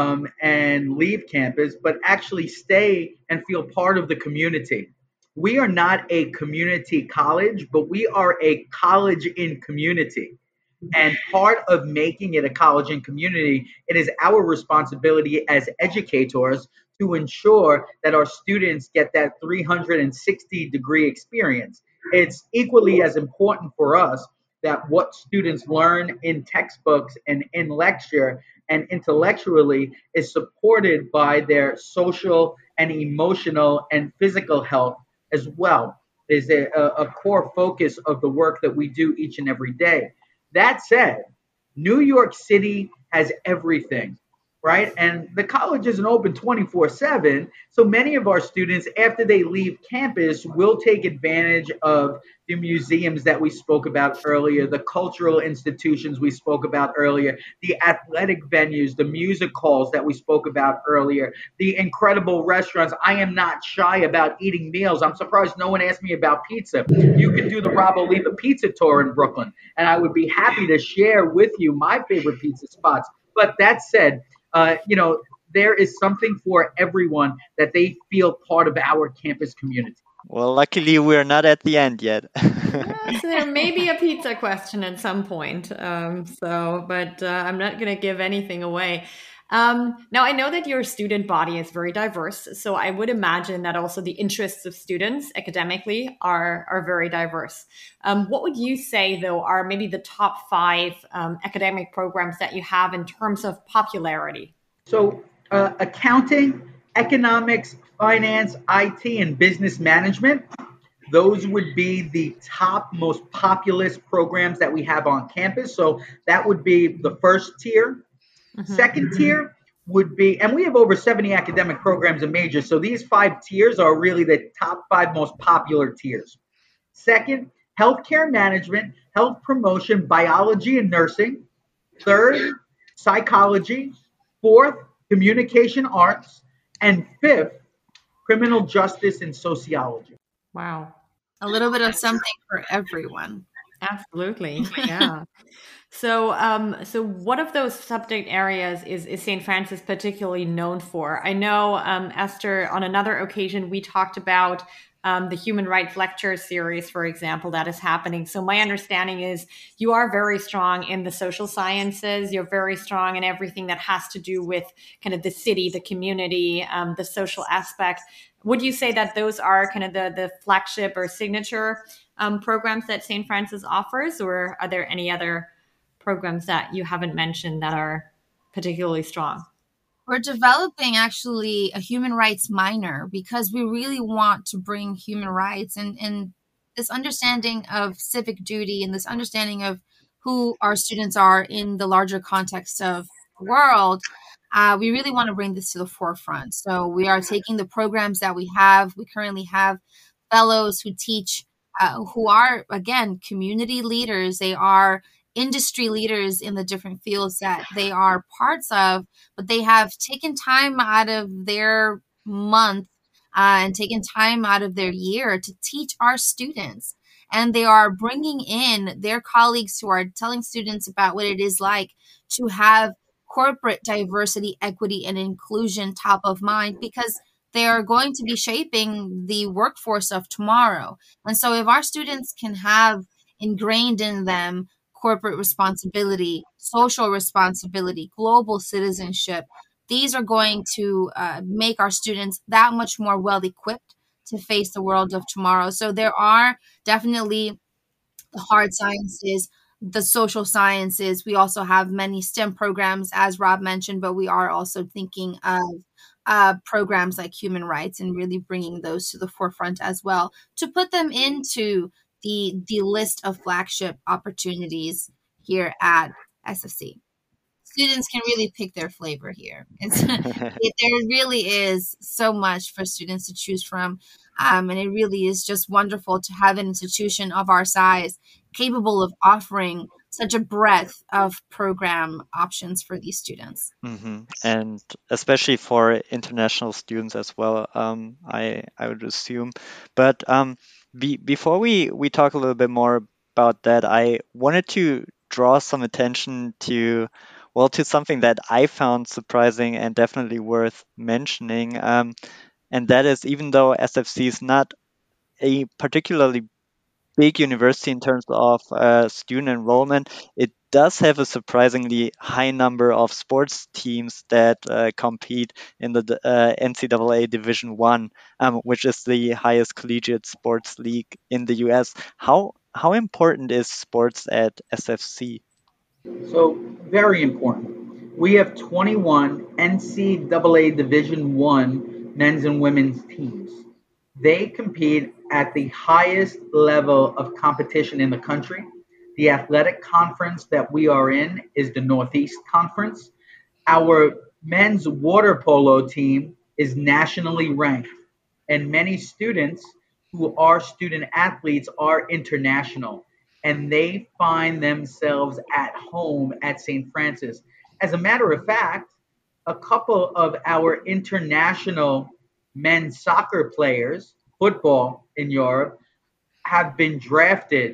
and leave campus, but actually stay and feel part of the community. We are not a community college, but we are a college in community. And part of making it a college and community, it is our responsibility as educators to ensure that our students get that 360-degree experience. It's equally as important for us that what students learn in textbooks and in lecture and intellectually is supported by their social and emotional and physical health as well. Is a core focus of the work that we do each and every day. That said, New York City has everything, right? And the college isn't open 24/7. So many of our students, after they leave campus, will take advantage of the museums that we spoke about earlier, the cultural institutions we spoke about earlier, the athletic venues, the music halls that we spoke about earlier, the incredible restaurants. I am not shy about eating meals. I'm surprised no one asked me about pizza. You can do the Rob Oliva pizza tour in Brooklyn, and I would be happy to share with you my favorite pizza spots. But that said, there is something for everyone that they feel part of our campus community. Well, luckily we're not at the end yet. So there may be a pizza question at some point. But I'm not going to give anything away. Now, I know that your student body is very diverse, so I would imagine that also the interests of students academically are very diverse. What would you say, though, are maybe the top 5 academic programs that you have in terms of popularity? So accounting, economics, finance, IT, and business management, those would be the top most populous programs that we have on campus. So that would be the first tier. Mm-hmm. Second tier would be, and we have over 70 academic programs and majors. So these 5 tiers are really the top 5 most popular tiers. Second, healthcare management, health promotion, biology and nursing. Third, psychology. Fourth, communication arts. And fifth, criminal justice and sociology. Wow. A little bit of something for everyone. Absolutely. Yeah. So, so what of those subject areas is St. Francis particularly known for? I know, Esther, on another occasion, we talked about the Human Rights Lecture Series, for example, that is happening. So my understanding is you are very strong in the social sciences. You're very strong in everything that has to do with kind of the city, the community, the social aspect. Would you say that those are kind of the flagship or signature programs that St. Francis offers, or are there any other programs that you haven't mentioned that are particularly strong? We're developing actually a human rights minor because we really want to bring human rights and this understanding of civic duty and this understanding of who our students are in the larger context of the world. We really want to bring this to the forefront. So we are taking the programs that we have. We currently have fellows who teach, who are, again, community leaders. They are industry leaders in the different fields that they are parts of, but they have taken time out of their month and taken time out of their year to teach our students. And they are bringing in their colleagues who are telling students about what it is like to have corporate diversity, equity, and inclusion top of mind, because they are going to be shaping the workforce of tomorrow. And so if our students can have ingrained in them corporate responsibility, social responsibility, global citizenship, these are going to make our students that much more well equipped to face the world of tomorrow. So there are definitely the hard sciences, the social sciences. We also have many STEM programs, as Rob mentioned, but we are also thinking of programs like human rights and really bringing those to the forefront as well to put them into the list of flagship opportunities here at SFC. Students can really pick their flavor here. There really is so much for students to choose from. And it really is just wonderful to have an institution of our size capable of offering such a breadth of program options for these students. Mm-hmm. And especially for international students as well, I would assume. But before we talk a little bit more about that, I wanted to draw some attention to something that I found surprising and definitely worth mentioning. And that is, even though SFC is not a particularly big university in terms of student enrollment, it does have a surprisingly high number of sports teams that compete in the NCAA Division One, which is the highest collegiate sports league in the US. How important is sports at SFC? So very important. We have 21 NCAA Division One men's and women's teams. They compete at the highest level of competition in the country. The athletic conference that we are in is the Northeast Conference. Our men's water polo team is nationally ranked, and many students who are student athletes are international, and they find themselves at home at St. Francis. As a matter of fact, a couple of our international men's soccer players, football in Europe, have been drafted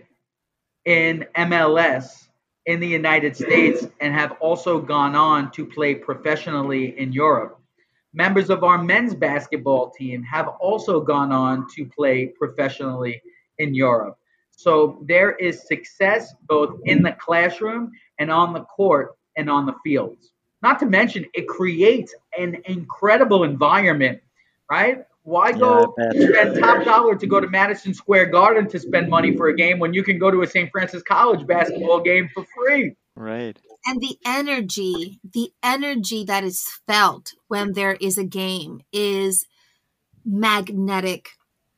in MLS in the United States and have also gone on to play professionally in Europe. Members of our men's basketball team have also gone on to play professionally in Europe. So there is success both in the classroom and on the court and on the fields. Not to mention, it creates an incredible environment, right? Why go spend top dollar to go to Madison Square Garden to spend money for a game when you can go to a St. Francis College basketball game for free? Right. And the energy that is felt when there is a game is magnetic.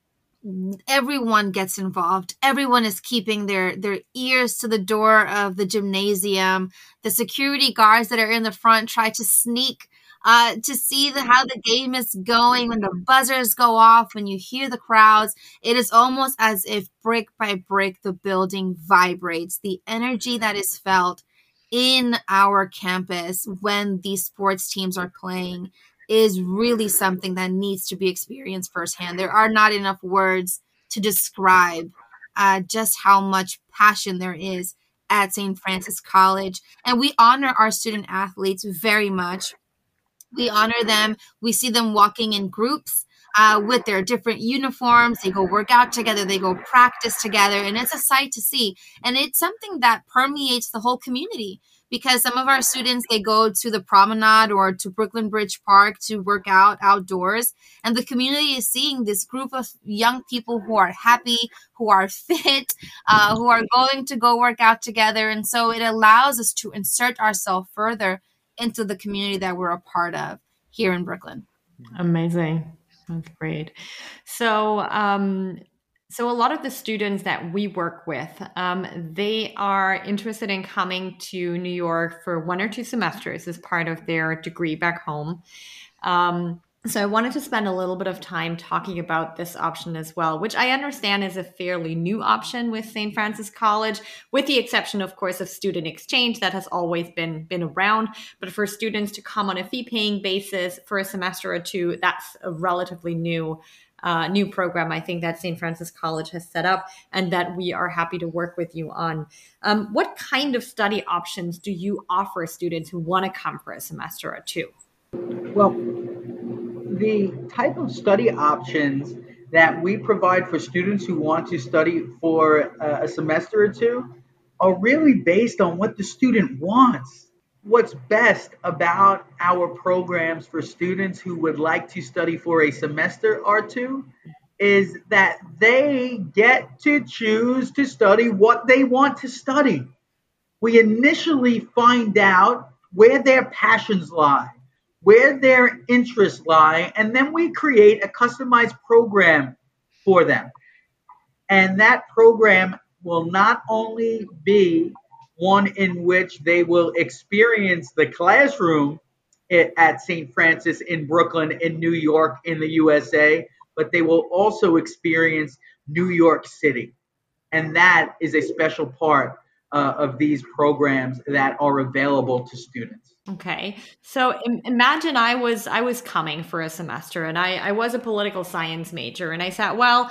Everyone gets involved. Everyone is keeping their ears to the door of the gymnasium. The security guards that are in the front try to sneak to see how the game is going, when the buzzers go off, when you hear the crowds. It is almost as if brick by brick the building vibrates. The energy that is felt in our campus when these sports teams are playing is really something that needs to be experienced firsthand. There are not enough words to describe just how much passion there is at St. Francis College. And we honor our student athletes very much. We honor them. We see them walking in groups with their different uniforms. They go work out together. They go practice together. And it's a sight to see. And it's something that permeates the whole community, because some of our students, they go to the promenade or to Brooklyn Bridge Park to work out outdoors. And the community is seeing this group of young people who are happy, who are fit, who are going to go work out together. And so it allows us to insert ourselves further into the community that we're a part of here in Brooklyn. Amazing. That's great. So, so a lot of the students that we work with, they are interested in coming to New York for 1 or 2 semesters as part of their degree back home. So I wanted to spend a little bit of time talking about this option as well, which I understand is a fairly new option with St. Francis College, with the exception, of course, of student exchange that has always been around. But for students to come on a fee-paying basis for a semester or 2, that's a relatively new program, I think, that St. Francis College has set up and that we are happy to work with you on. What kind of study options do you offer students who want to come for a semester or 2? Well, the type of study options that we provide for students who want to study for a semester or 2 are really based on what the student wants. What's best about our programs for students who would like to study for a semester or 2 is that they get to choose to study what they want to study. We initially find out where their passions lie, where their interests lie, and then we create a customized program for them. And that program will not only be one in which they will experience the classroom at St. Francis in Brooklyn, in New York, in the USA, but they will also experience New York City. And that is a special part of these programs that are available to students. Okay. So imagine I was coming for a semester and I was a political science major, and I said, well,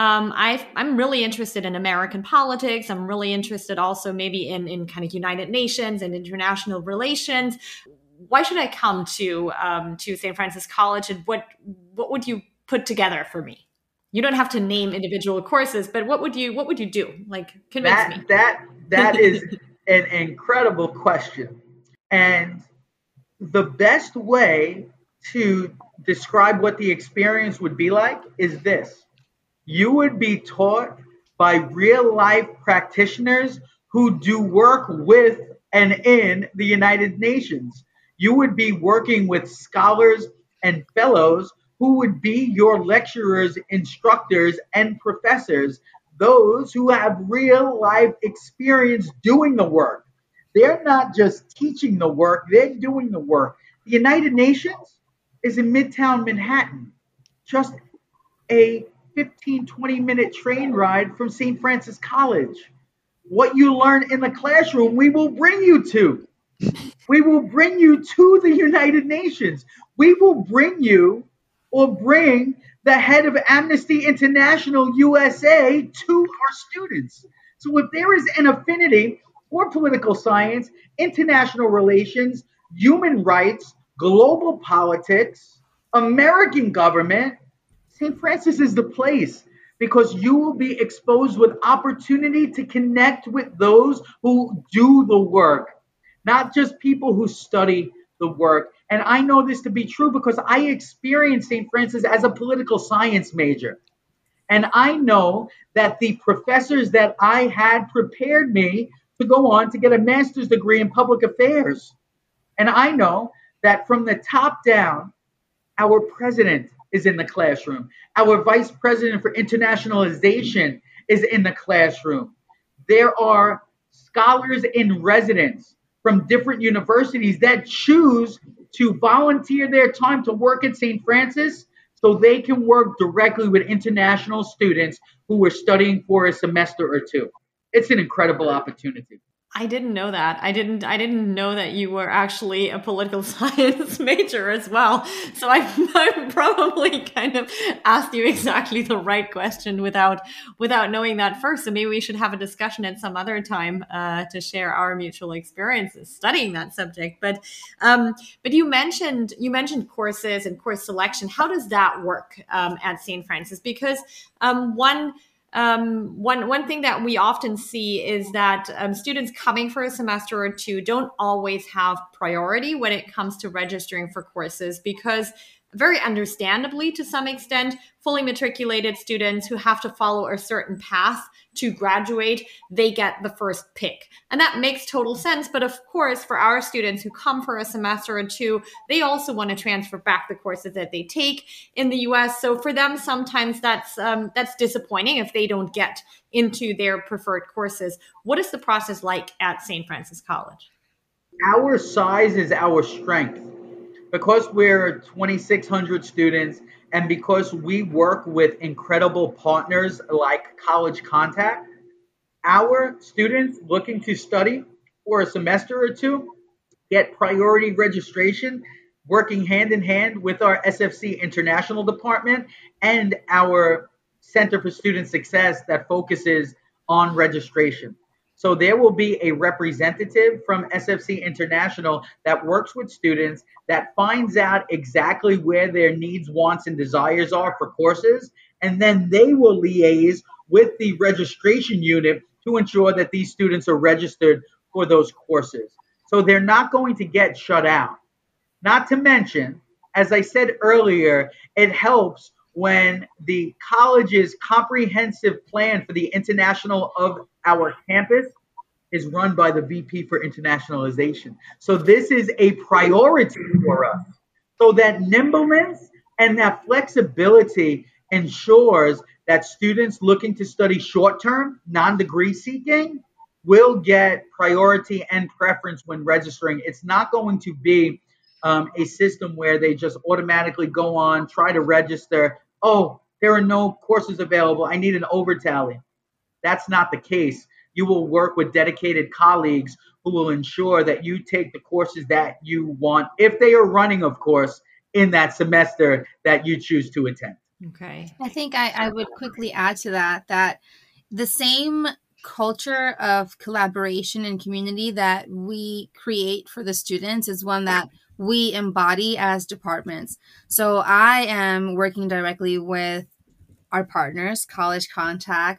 I'm really interested in American politics. I'm really interested also maybe in kind of United Nations and international relations. Why should I come to St. Francis College, and what would you put together for me? You don't have to name individual courses, but what would you do? Like, convince me. That is an incredible question. And the best way to describe what the experience would be like is this. You would be taught by real life practitioners who do work with and in the United Nations. You would be working with scholars and fellows who would be your lecturers, instructors, and professors, those who have real life experience doing the work. They're not just teaching the work, they're doing the work. The United Nations is in Midtown Manhattan, just a 15, 20-minute train ride from St. Francis College. What you learn in the classroom, we will bring you to. We will bring you to the United Nations. We will bring you or bring the head of Amnesty International USA to our students. So if there is an affinity for political science, international relations, human rights, global politics, American government, St. Francis is the place, because you will be exposed with opportunity to connect with those who do the work, not just people who study the work. And I know this to be true because I experienced St. Francis as a political science major. And I know that the professors that I had prepared me to go on to get a master's degree in public affairs. And I know that from the top down, our president is in the classroom. Our vice president for internationalization is in the classroom. There are scholars in residence from different universities that choose to volunteer their time to work at St. Francis so they can work directly with international students who are studying for a semester or two. It's an incredible opportunity. I didn't know that. I didn't know that you were actually a political science major as well. So I probably kind of asked you exactly the right question without knowing that first. So maybe we should have a discussion at some other time to share our mutual experiences studying that subject. But you mentioned courses and course selection. How does that work at St. Francis? Because one thing that we often see is that students coming for a semester or two don't always have priority when it comes to registering for courses, because very understandably, to some extent, fully matriculated students who have to follow a certain path to graduate, they get the first pick. And that makes total sense. But of course, for our students who come for a semester or two, they also want to transfer back the courses that they take in the US. So for them, sometimes that's disappointing if they don't get into their preferred courses. What is the process like at St. Francis College? Our size is our strength. Because we're 2,600 students and because we work with incredible partners like College Contact, our students looking to study for a semester or two get priority registration, working hand in hand with our SFC International Department and our Center for Student Success that focuses on registration. So there will be a representative from SFC International that works with students, that finds out exactly where their needs, wants, and desires are for courses, and then they will liaise with the registration unit to ensure that these students are registered for those courses. So they're not going to get shut out. Not to mention, as I said earlier, it helps when the college's comprehensive plan for the international of our campus is run by the VP for internationalization. So this is a priority for us. So that nimbleness and that flexibility ensures that students looking to study short-term, non-degree seeking will get priority and preference when registering. It's not going to be a system where they just automatically go on, try to register. Oh, there are no courses available. I need an overtally. That's not the case. You will work with dedicated colleagues who will ensure that you take the courses that you want, if they are running, of course, in that semester that you choose to attend. Okay. I think I would quickly add to that the same culture of collaboration and community that we create for the students is one that we embody as departments. So I am working directly with our partners, College Contact,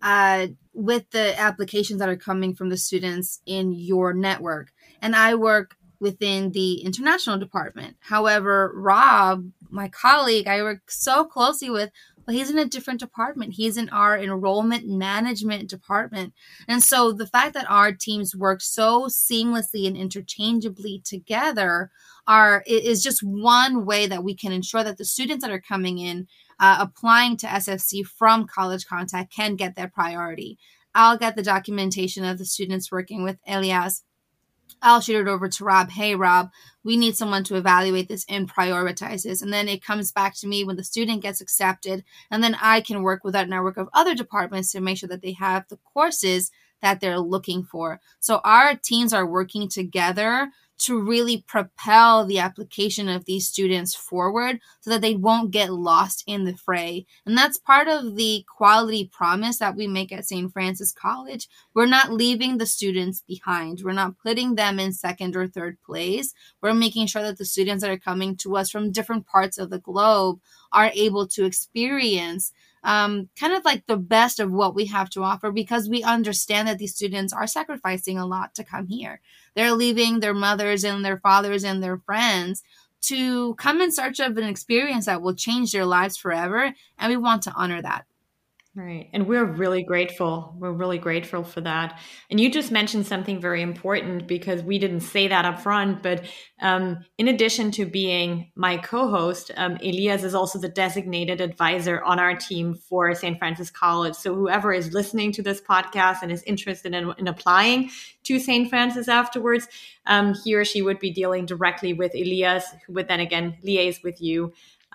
with the applications that are coming from the students in your network. And I work within the international department. However, Rob, my colleague, I work so closely with, but he's in a different department. He's in our enrollment management department. And so the fact that our teams work so seamlessly and interchangeably together is just one way that we can ensure that the students that are coming in applying to SFC from College Contact can get their priority. I'll get the documentation of the students working with Elias. I'll shoot it over to Rob. Hey, Rob, we need someone to evaluate this and prioritize this. And then it comes back to me when the student gets accepted. And then I can work with that network of other departments to make sure that they have the courses that they're looking for. So our teams are working together to really propel the application of these students forward so that they won't get lost in the fray. And that's part of the quality promise that we make at St. Francis College. We're not leaving the students behind. We're not putting them in second or third place. We're making sure that the students that are coming to us from different parts of the globe are able to experience kind of like the best of what we have to offer, because we understand that these students are sacrificing a lot to come here. They're leaving their mothers and their fathers and their friends to come in search of an experience that will change their lives forever. And we want to honor that. Right. And we're really grateful. We're really grateful for that. And you just mentioned something very important because we didn't say that up front. But in addition to being my co-host, Elias is also the designated advisor on our team for St. Francis College. So whoever is listening to this podcast and is interested in applying to St. Francis afterwards, he or she would be dealing directly with Elias, who would then again liaise with you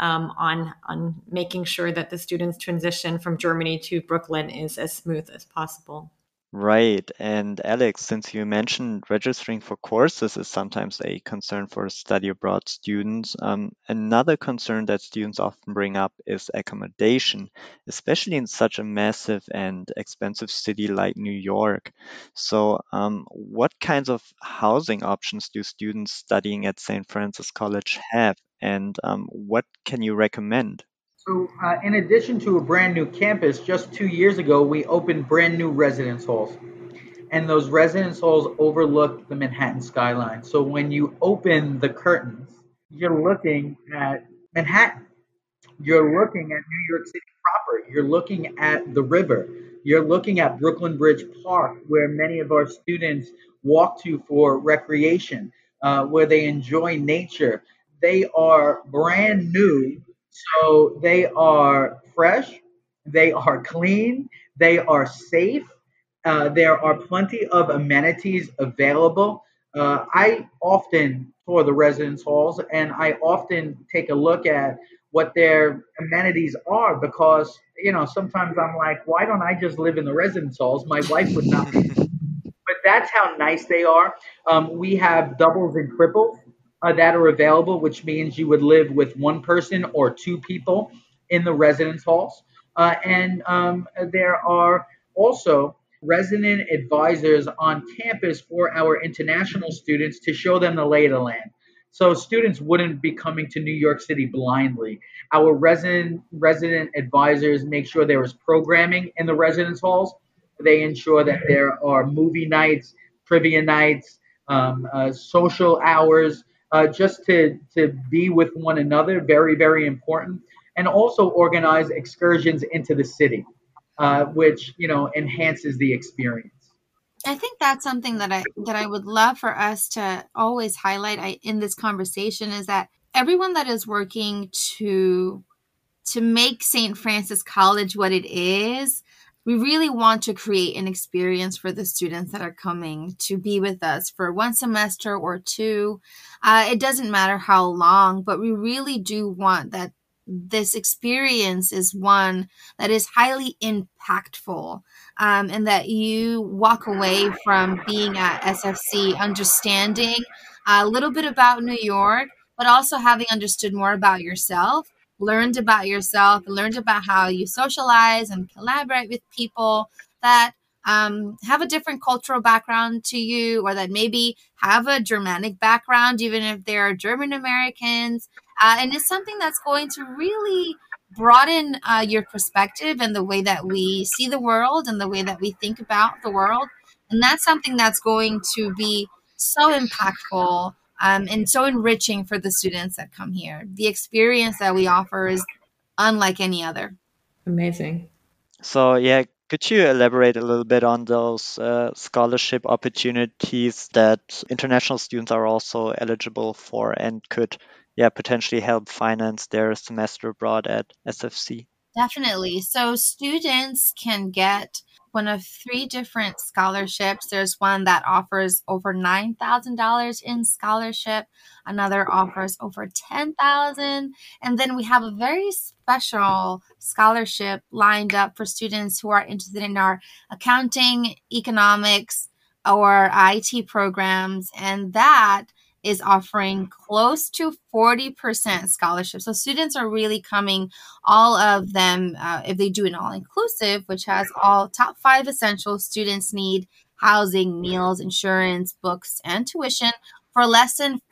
on making sure that the students' transition from Germany to Brooklyn is as smooth as possible. Right. And Alex, since you mentioned registering for courses is sometimes a concern for study abroad students, another concern that students often bring up is accommodation, especially in such a massive and expensive city like New York. So, what kinds of housing options do students studying at St. Francis College have, and what can you recommend? So, in addition to a brand new campus, just 2 years ago, we opened brand new residence halls. And those residence halls overlook the Manhattan skyline. So, when you open the curtains, you're looking at Manhattan. You're looking at New York City proper. You're looking at the river. You're looking at Brooklyn Bridge Park, where many of our students walk to for recreation, where they enjoy nature. They are brand new, so they are fresh, they are clean, they are safe. There are plenty of amenities available. I often tour the residence halls and I often take a look at what their amenities are because sometimes I'm like, why don't I just live in the residence halls? My wife would not, but that's how nice they are. We have doubles and triples that are available, which means you would live with one person or two people in the residence halls. And there are also resident advisors on campus for our international students to show them the lay of the land. So students wouldn't be coming to New York City blindly. Our resident advisors make sure there is programming in the residence halls. They ensure that there are movie nights, trivia nights, social hours, just to be with one another. Very, very important. And also organize excursions into the city, which enhances the experience. I think that's something that I would love for us to always highlight in this conversation is that everyone that is working to make St. Francis College what it is, we really want to create an experience for the students that are coming to be with us for one semester or two. It doesn't matter how long, but we really do want that this experience is one that is highly impactful, and that you walk away from being at SFC understanding a little bit about New York, but also having understood more about yourself, learned about how you socialize and collaborate with people that have a different cultural background to you, or that maybe have a Germanic background, even if they're German Americans. And it's something that's going to really broaden your perspective and the way that we see the world and the way that we think about the world. And that's something that's going to be so impactful and so enriching for the students that come here. The experience that we offer is unlike any other. Amazing. So, yeah, could you elaborate a little bit on those scholarship opportunities that international students are also eligible for and could, potentially help finance their semester abroad at SFC? Definitely. So students can get one of 3 different scholarships. There's one that offers over $9,000 in scholarship. Another offers over $10,000. And then we have a very special scholarship lined up for students who are interested in our accounting, economics, or IT programs. And that is offering close to 40% scholarship. So students are really coming, all of them, if they do an all-inclusive, which has all top 5 essentials students need: housing, meals, insurance, books, and tuition, for less than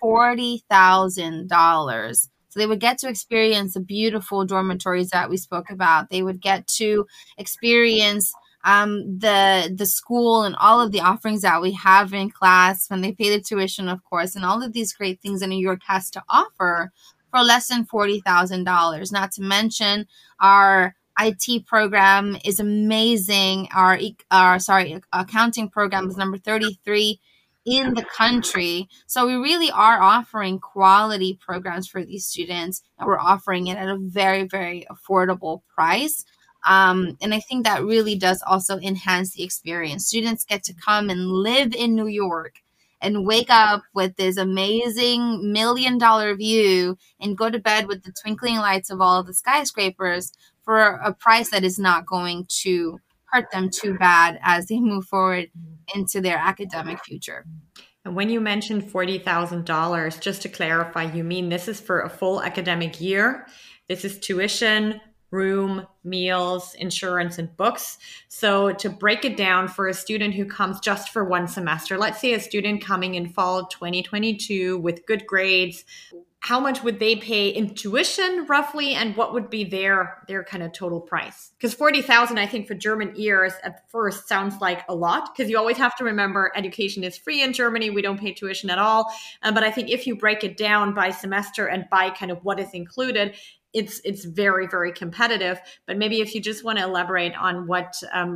$40,000. So they would get to experience the beautiful dormitories that we spoke about. They would get to experience the school and all of the offerings that we have in class when they pay the tuition, of course, and all of these great things that New York has to offer for less than $40,000. Not to mention our IT program is amazing. Our accounting program is number 33 in the country. So we really are offering quality programs for these students, and we're offering it at a very, very affordable price. And I think that really does also enhance the experience. Students get to come and live in New York and wake up with this amazing $1 million view and go to bed with the twinkling lights of all of the skyscrapers for a price that is not going to hurt them too bad as they move forward into their academic future. And when you mentioned $40,000, just to clarify, you mean this is for a full academic year? This is tuition, room, meals, insurance, and books. So to break it down for a student who comes just for one semester, let's say a student coming in fall 2022 with good grades, how much would they pay in tuition roughly, and what would be their kind of total price? Because 40,000, I think for German ears at first sounds like a lot, because you always have to remember education is free in Germany. We don't pay tuition at all. But I think if you break it down by semester and by kind of what is included, it's very, very competitive. But maybe if you just want to elaborate on what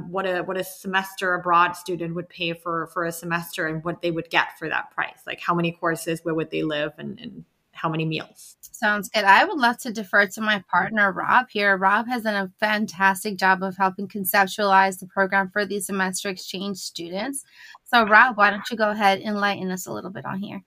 a semester abroad student would pay for a semester and what they would get for that price, like how many courses, where would they live, and how many meals? Sounds good. I would love to defer to my partner, Rob, here. Rob has done a fantastic job of helping conceptualize the program for these semester exchange students. So, Rob, why don't you go ahead and enlighten us a little bit on here?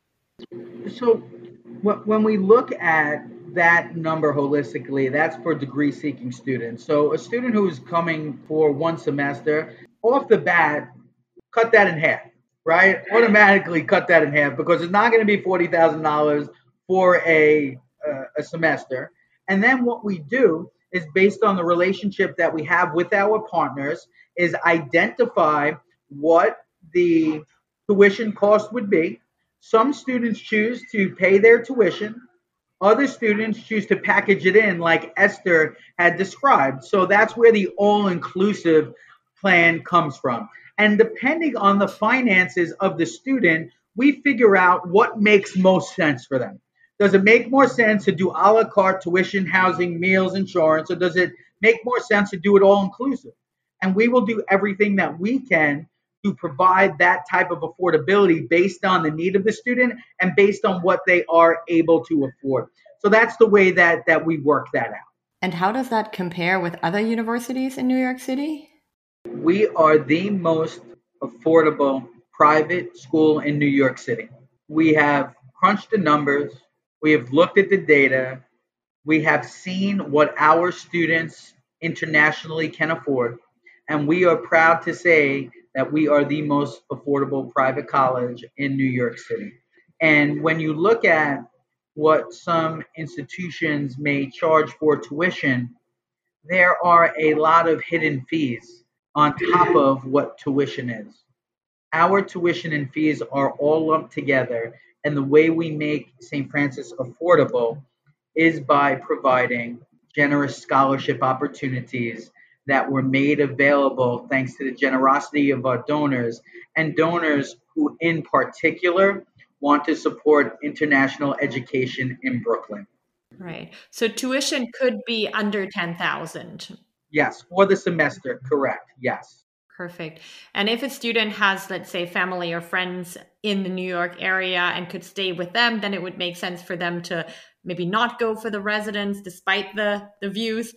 So when we look at that number holistically, that's for degree-seeking students. So a student who is coming for one semester, off the bat, cut that in half, right? Automatically cut that in half, because it's not going to be $40,000 for a semester. And then what we do is, based on the relationship that we have with our partners, is identify what the tuition cost would be. Some students choose to pay their tuition. Other students choose to package it in like Esther had described. So that's where the all-inclusive plan comes from. And depending on the finances of the student, we figure out what makes most sense for them. Does it make more sense to do a la carte tuition, housing, meals, insurance, or does it make more sense to do it all-inclusive? And we will do everything that we can to provide that type of affordability based on the need of the student and based on what they are able to afford. So that's the way that we work that out. And how does that compare with other universities in New York City? We are the most affordable private school in New York City. We have crunched the numbers. We have looked at the data. We have seen what our students internationally can afford. And we are proud to say that we are the most affordable private college in New York City. And when you look at what some institutions may charge for tuition, there are a lot of hidden fees on top of what tuition is. Our tuition and fees are all lumped together, and the way we make St. Francis affordable is by providing generous scholarship opportunities that were made available thanks to the generosity of our donors, and donors who in particular want to support international education in Brooklyn. Right. So tuition could be under 10,000. Yes, for the semester, correct. Yes. Perfect. And if a student has, let's say, family or friends in the New York area and could stay with them, then it would make sense for them to maybe not go for the residence despite the views.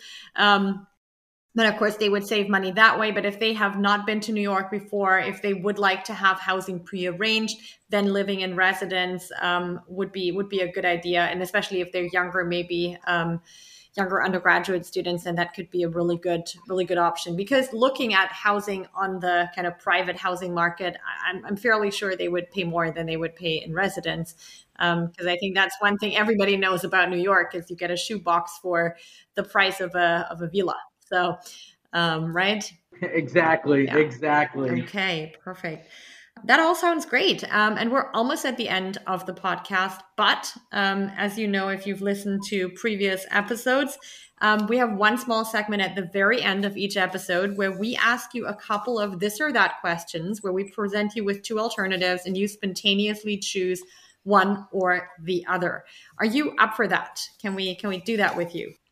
But of course, they would save money that way. But if they have not been to New York before, if they would like to have housing prearranged, then living in residence would be a good idea. And especially if they're younger, maybe younger undergraduate students, then that could be a really good option. Because looking at housing on the kind of private housing market, I'm fairly sure they would pay more than they would pay in residence. Because I think that's one thing everybody knows about New York is you get a shoebox for the price of a villa. So, right? Exactly. Yeah. Exactly. Okay, perfect. That all sounds great. And we're almost at the end of the podcast. But as you know, if you've listened to previous episodes, we have one small segment at the very end of each episode where we ask you a couple of this or that questions, where we present you with two alternatives and you spontaneously choose one or the other. Are you up for that? Can we do that with you?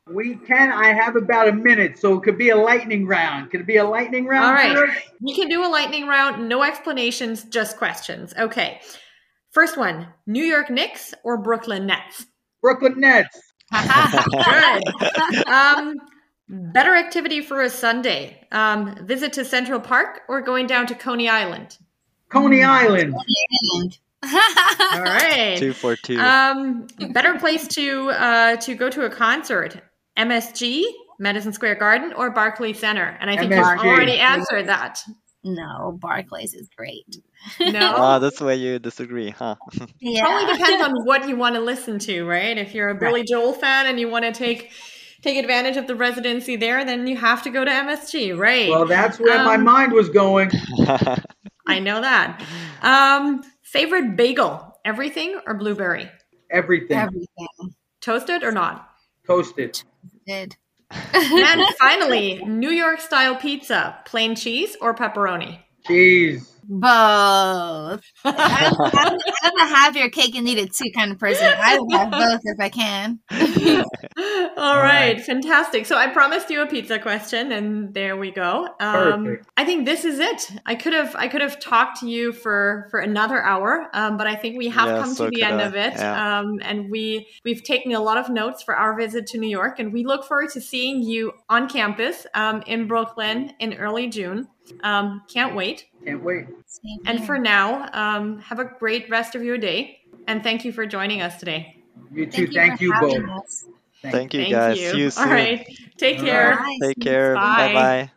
I have about a minute, so it could be a lightning round. Could it be a lightning round? All right. We can do a lightning round. No explanations, just questions. Okay. First one, New York Knicks or Brooklyn Nets? Brooklyn Nets. Good. Better activity for a Sunday, visit to Central Park or going down to Coney Island? Coney Island. All right. 2 for 2. Better place to go to a concert, MSG, Madison Square Garden, or Barclays Center? And I think MSG. you've already answered that. No, Barclays is great. No? That's where you disagree, huh? Yeah. Probably depends on what you want to listen to, right? If you're a Billy Joel fan and you want to take advantage of the residency there, then you have to go to MSG, right? Well, that's where my mind was going. I know that. Favorite bagel, everything or blueberry? Everything. Toasted or not? Toasted. Did. And finally, New York style pizza, plain cheese or pepperoni? Cheese. Both. I'm a have your cake and eat it too kind of person. I will have both if I can. All right, fantastic. So I promised you a pizza question, and there we go. Perfect. I think this is it. I could have talked to you for another hour, but I think we have come to the end of it. Yeah. And we've taken a lot of notes for our visit to New York, and we look forward to seeing you on campus in Brooklyn in early June. Can't wait. Can't wait. And for now, have a great rest of your day. And thank you for joining us today. You too. Thank you both. Thank you, guys. See you soon. All right. Take care. Bye. Take care. Bye. Bye-bye.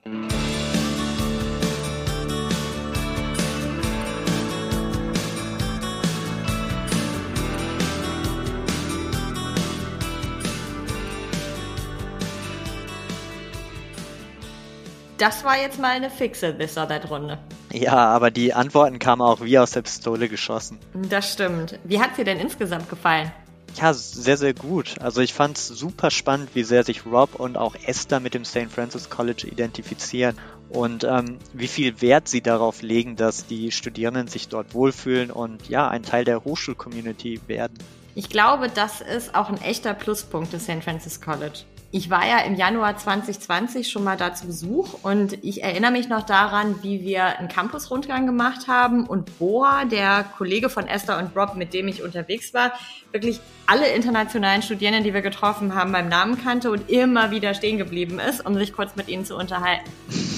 Das war jetzt mal eine fixe This or That Runde. Ja, aber die Antworten kamen auch wie aus der Pistole geschossen. Das stimmt. Wie hat es dir denn insgesamt gefallen? Ja, sehr, sehr gut. Also ich fand es super spannend, wie sehr sich Rob und auch Esther mit dem St. Francis College identifizieren und wie viel Wert sie darauf legen, dass die Studierenden sich dort wohlfühlen und ja, ein Teil der Hochschul-Community werden. Ich glaube, das ist auch ein echter Pluspunkt des St. Francis College. Ich war ja im Januar 2020 schon mal da zu Besuch und ich erinnere mich noch daran, wie wir einen Campus-Rundgang gemacht haben und Boa, der Kollege von Esther und Rob, mit dem ich unterwegs war, wirklich alle internationalen Studierenden, die wir getroffen haben, beim Namen kannte und immer wieder stehen geblieben ist, um sich kurz mit ihnen zu unterhalten.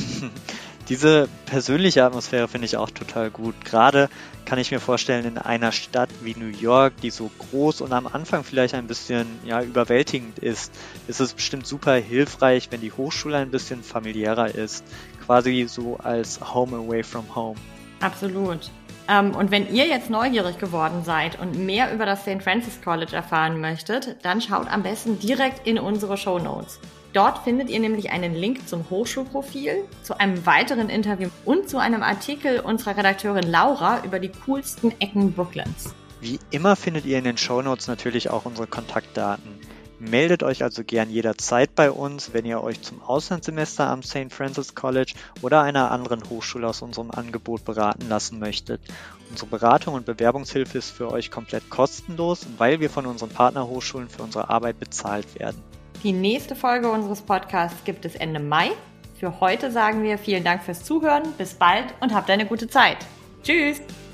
Diese persönliche Atmosphäre finde ich auch total gut. Gerade kann ich mir vorstellen, in einer Stadt wie New York, die so groß und am Anfang vielleicht ein bisschen überwältigend ist es bestimmt super hilfreich, wenn die Hochschule ein bisschen familiärer ist. Quasi so als Home away from home. Absolut. Und wenn ihr jetzt neugierig geworden seid und mehr über das St. Francis College erfahren möchtet, dann schaut am besten direkt in unsere Shownotes. Dort findet ihr nämlich einen Link zum Hochschulprofil, zu einem weiteren Interview und zu einem Artikel unserer Redakteurin Laura über die coolsten Ecken Brooklyns. Wie immer findet ihr in den Shownotes natürlich auch unsere Kontaktdaten. Meldet euch also gern jederzeit bei uns, wenn ihr euch zum Auslandssemester am St. Francis College oder einer anderen Hochschule aus unserem Angebot beraten lassen möchtet. Unsere Beratung und Bewerbungshilfe ist für euch komplett kostenlos, weil wir von unseren Partnerhochschulen für unsere Arbeit bezahlt werden. Die nächste Folge unseres Podcasts gibt es Ende Mai. Für heute sagen wir vielen Dank fürs Zuhören, bis bald und habt eine gute Zeit. Tschüss!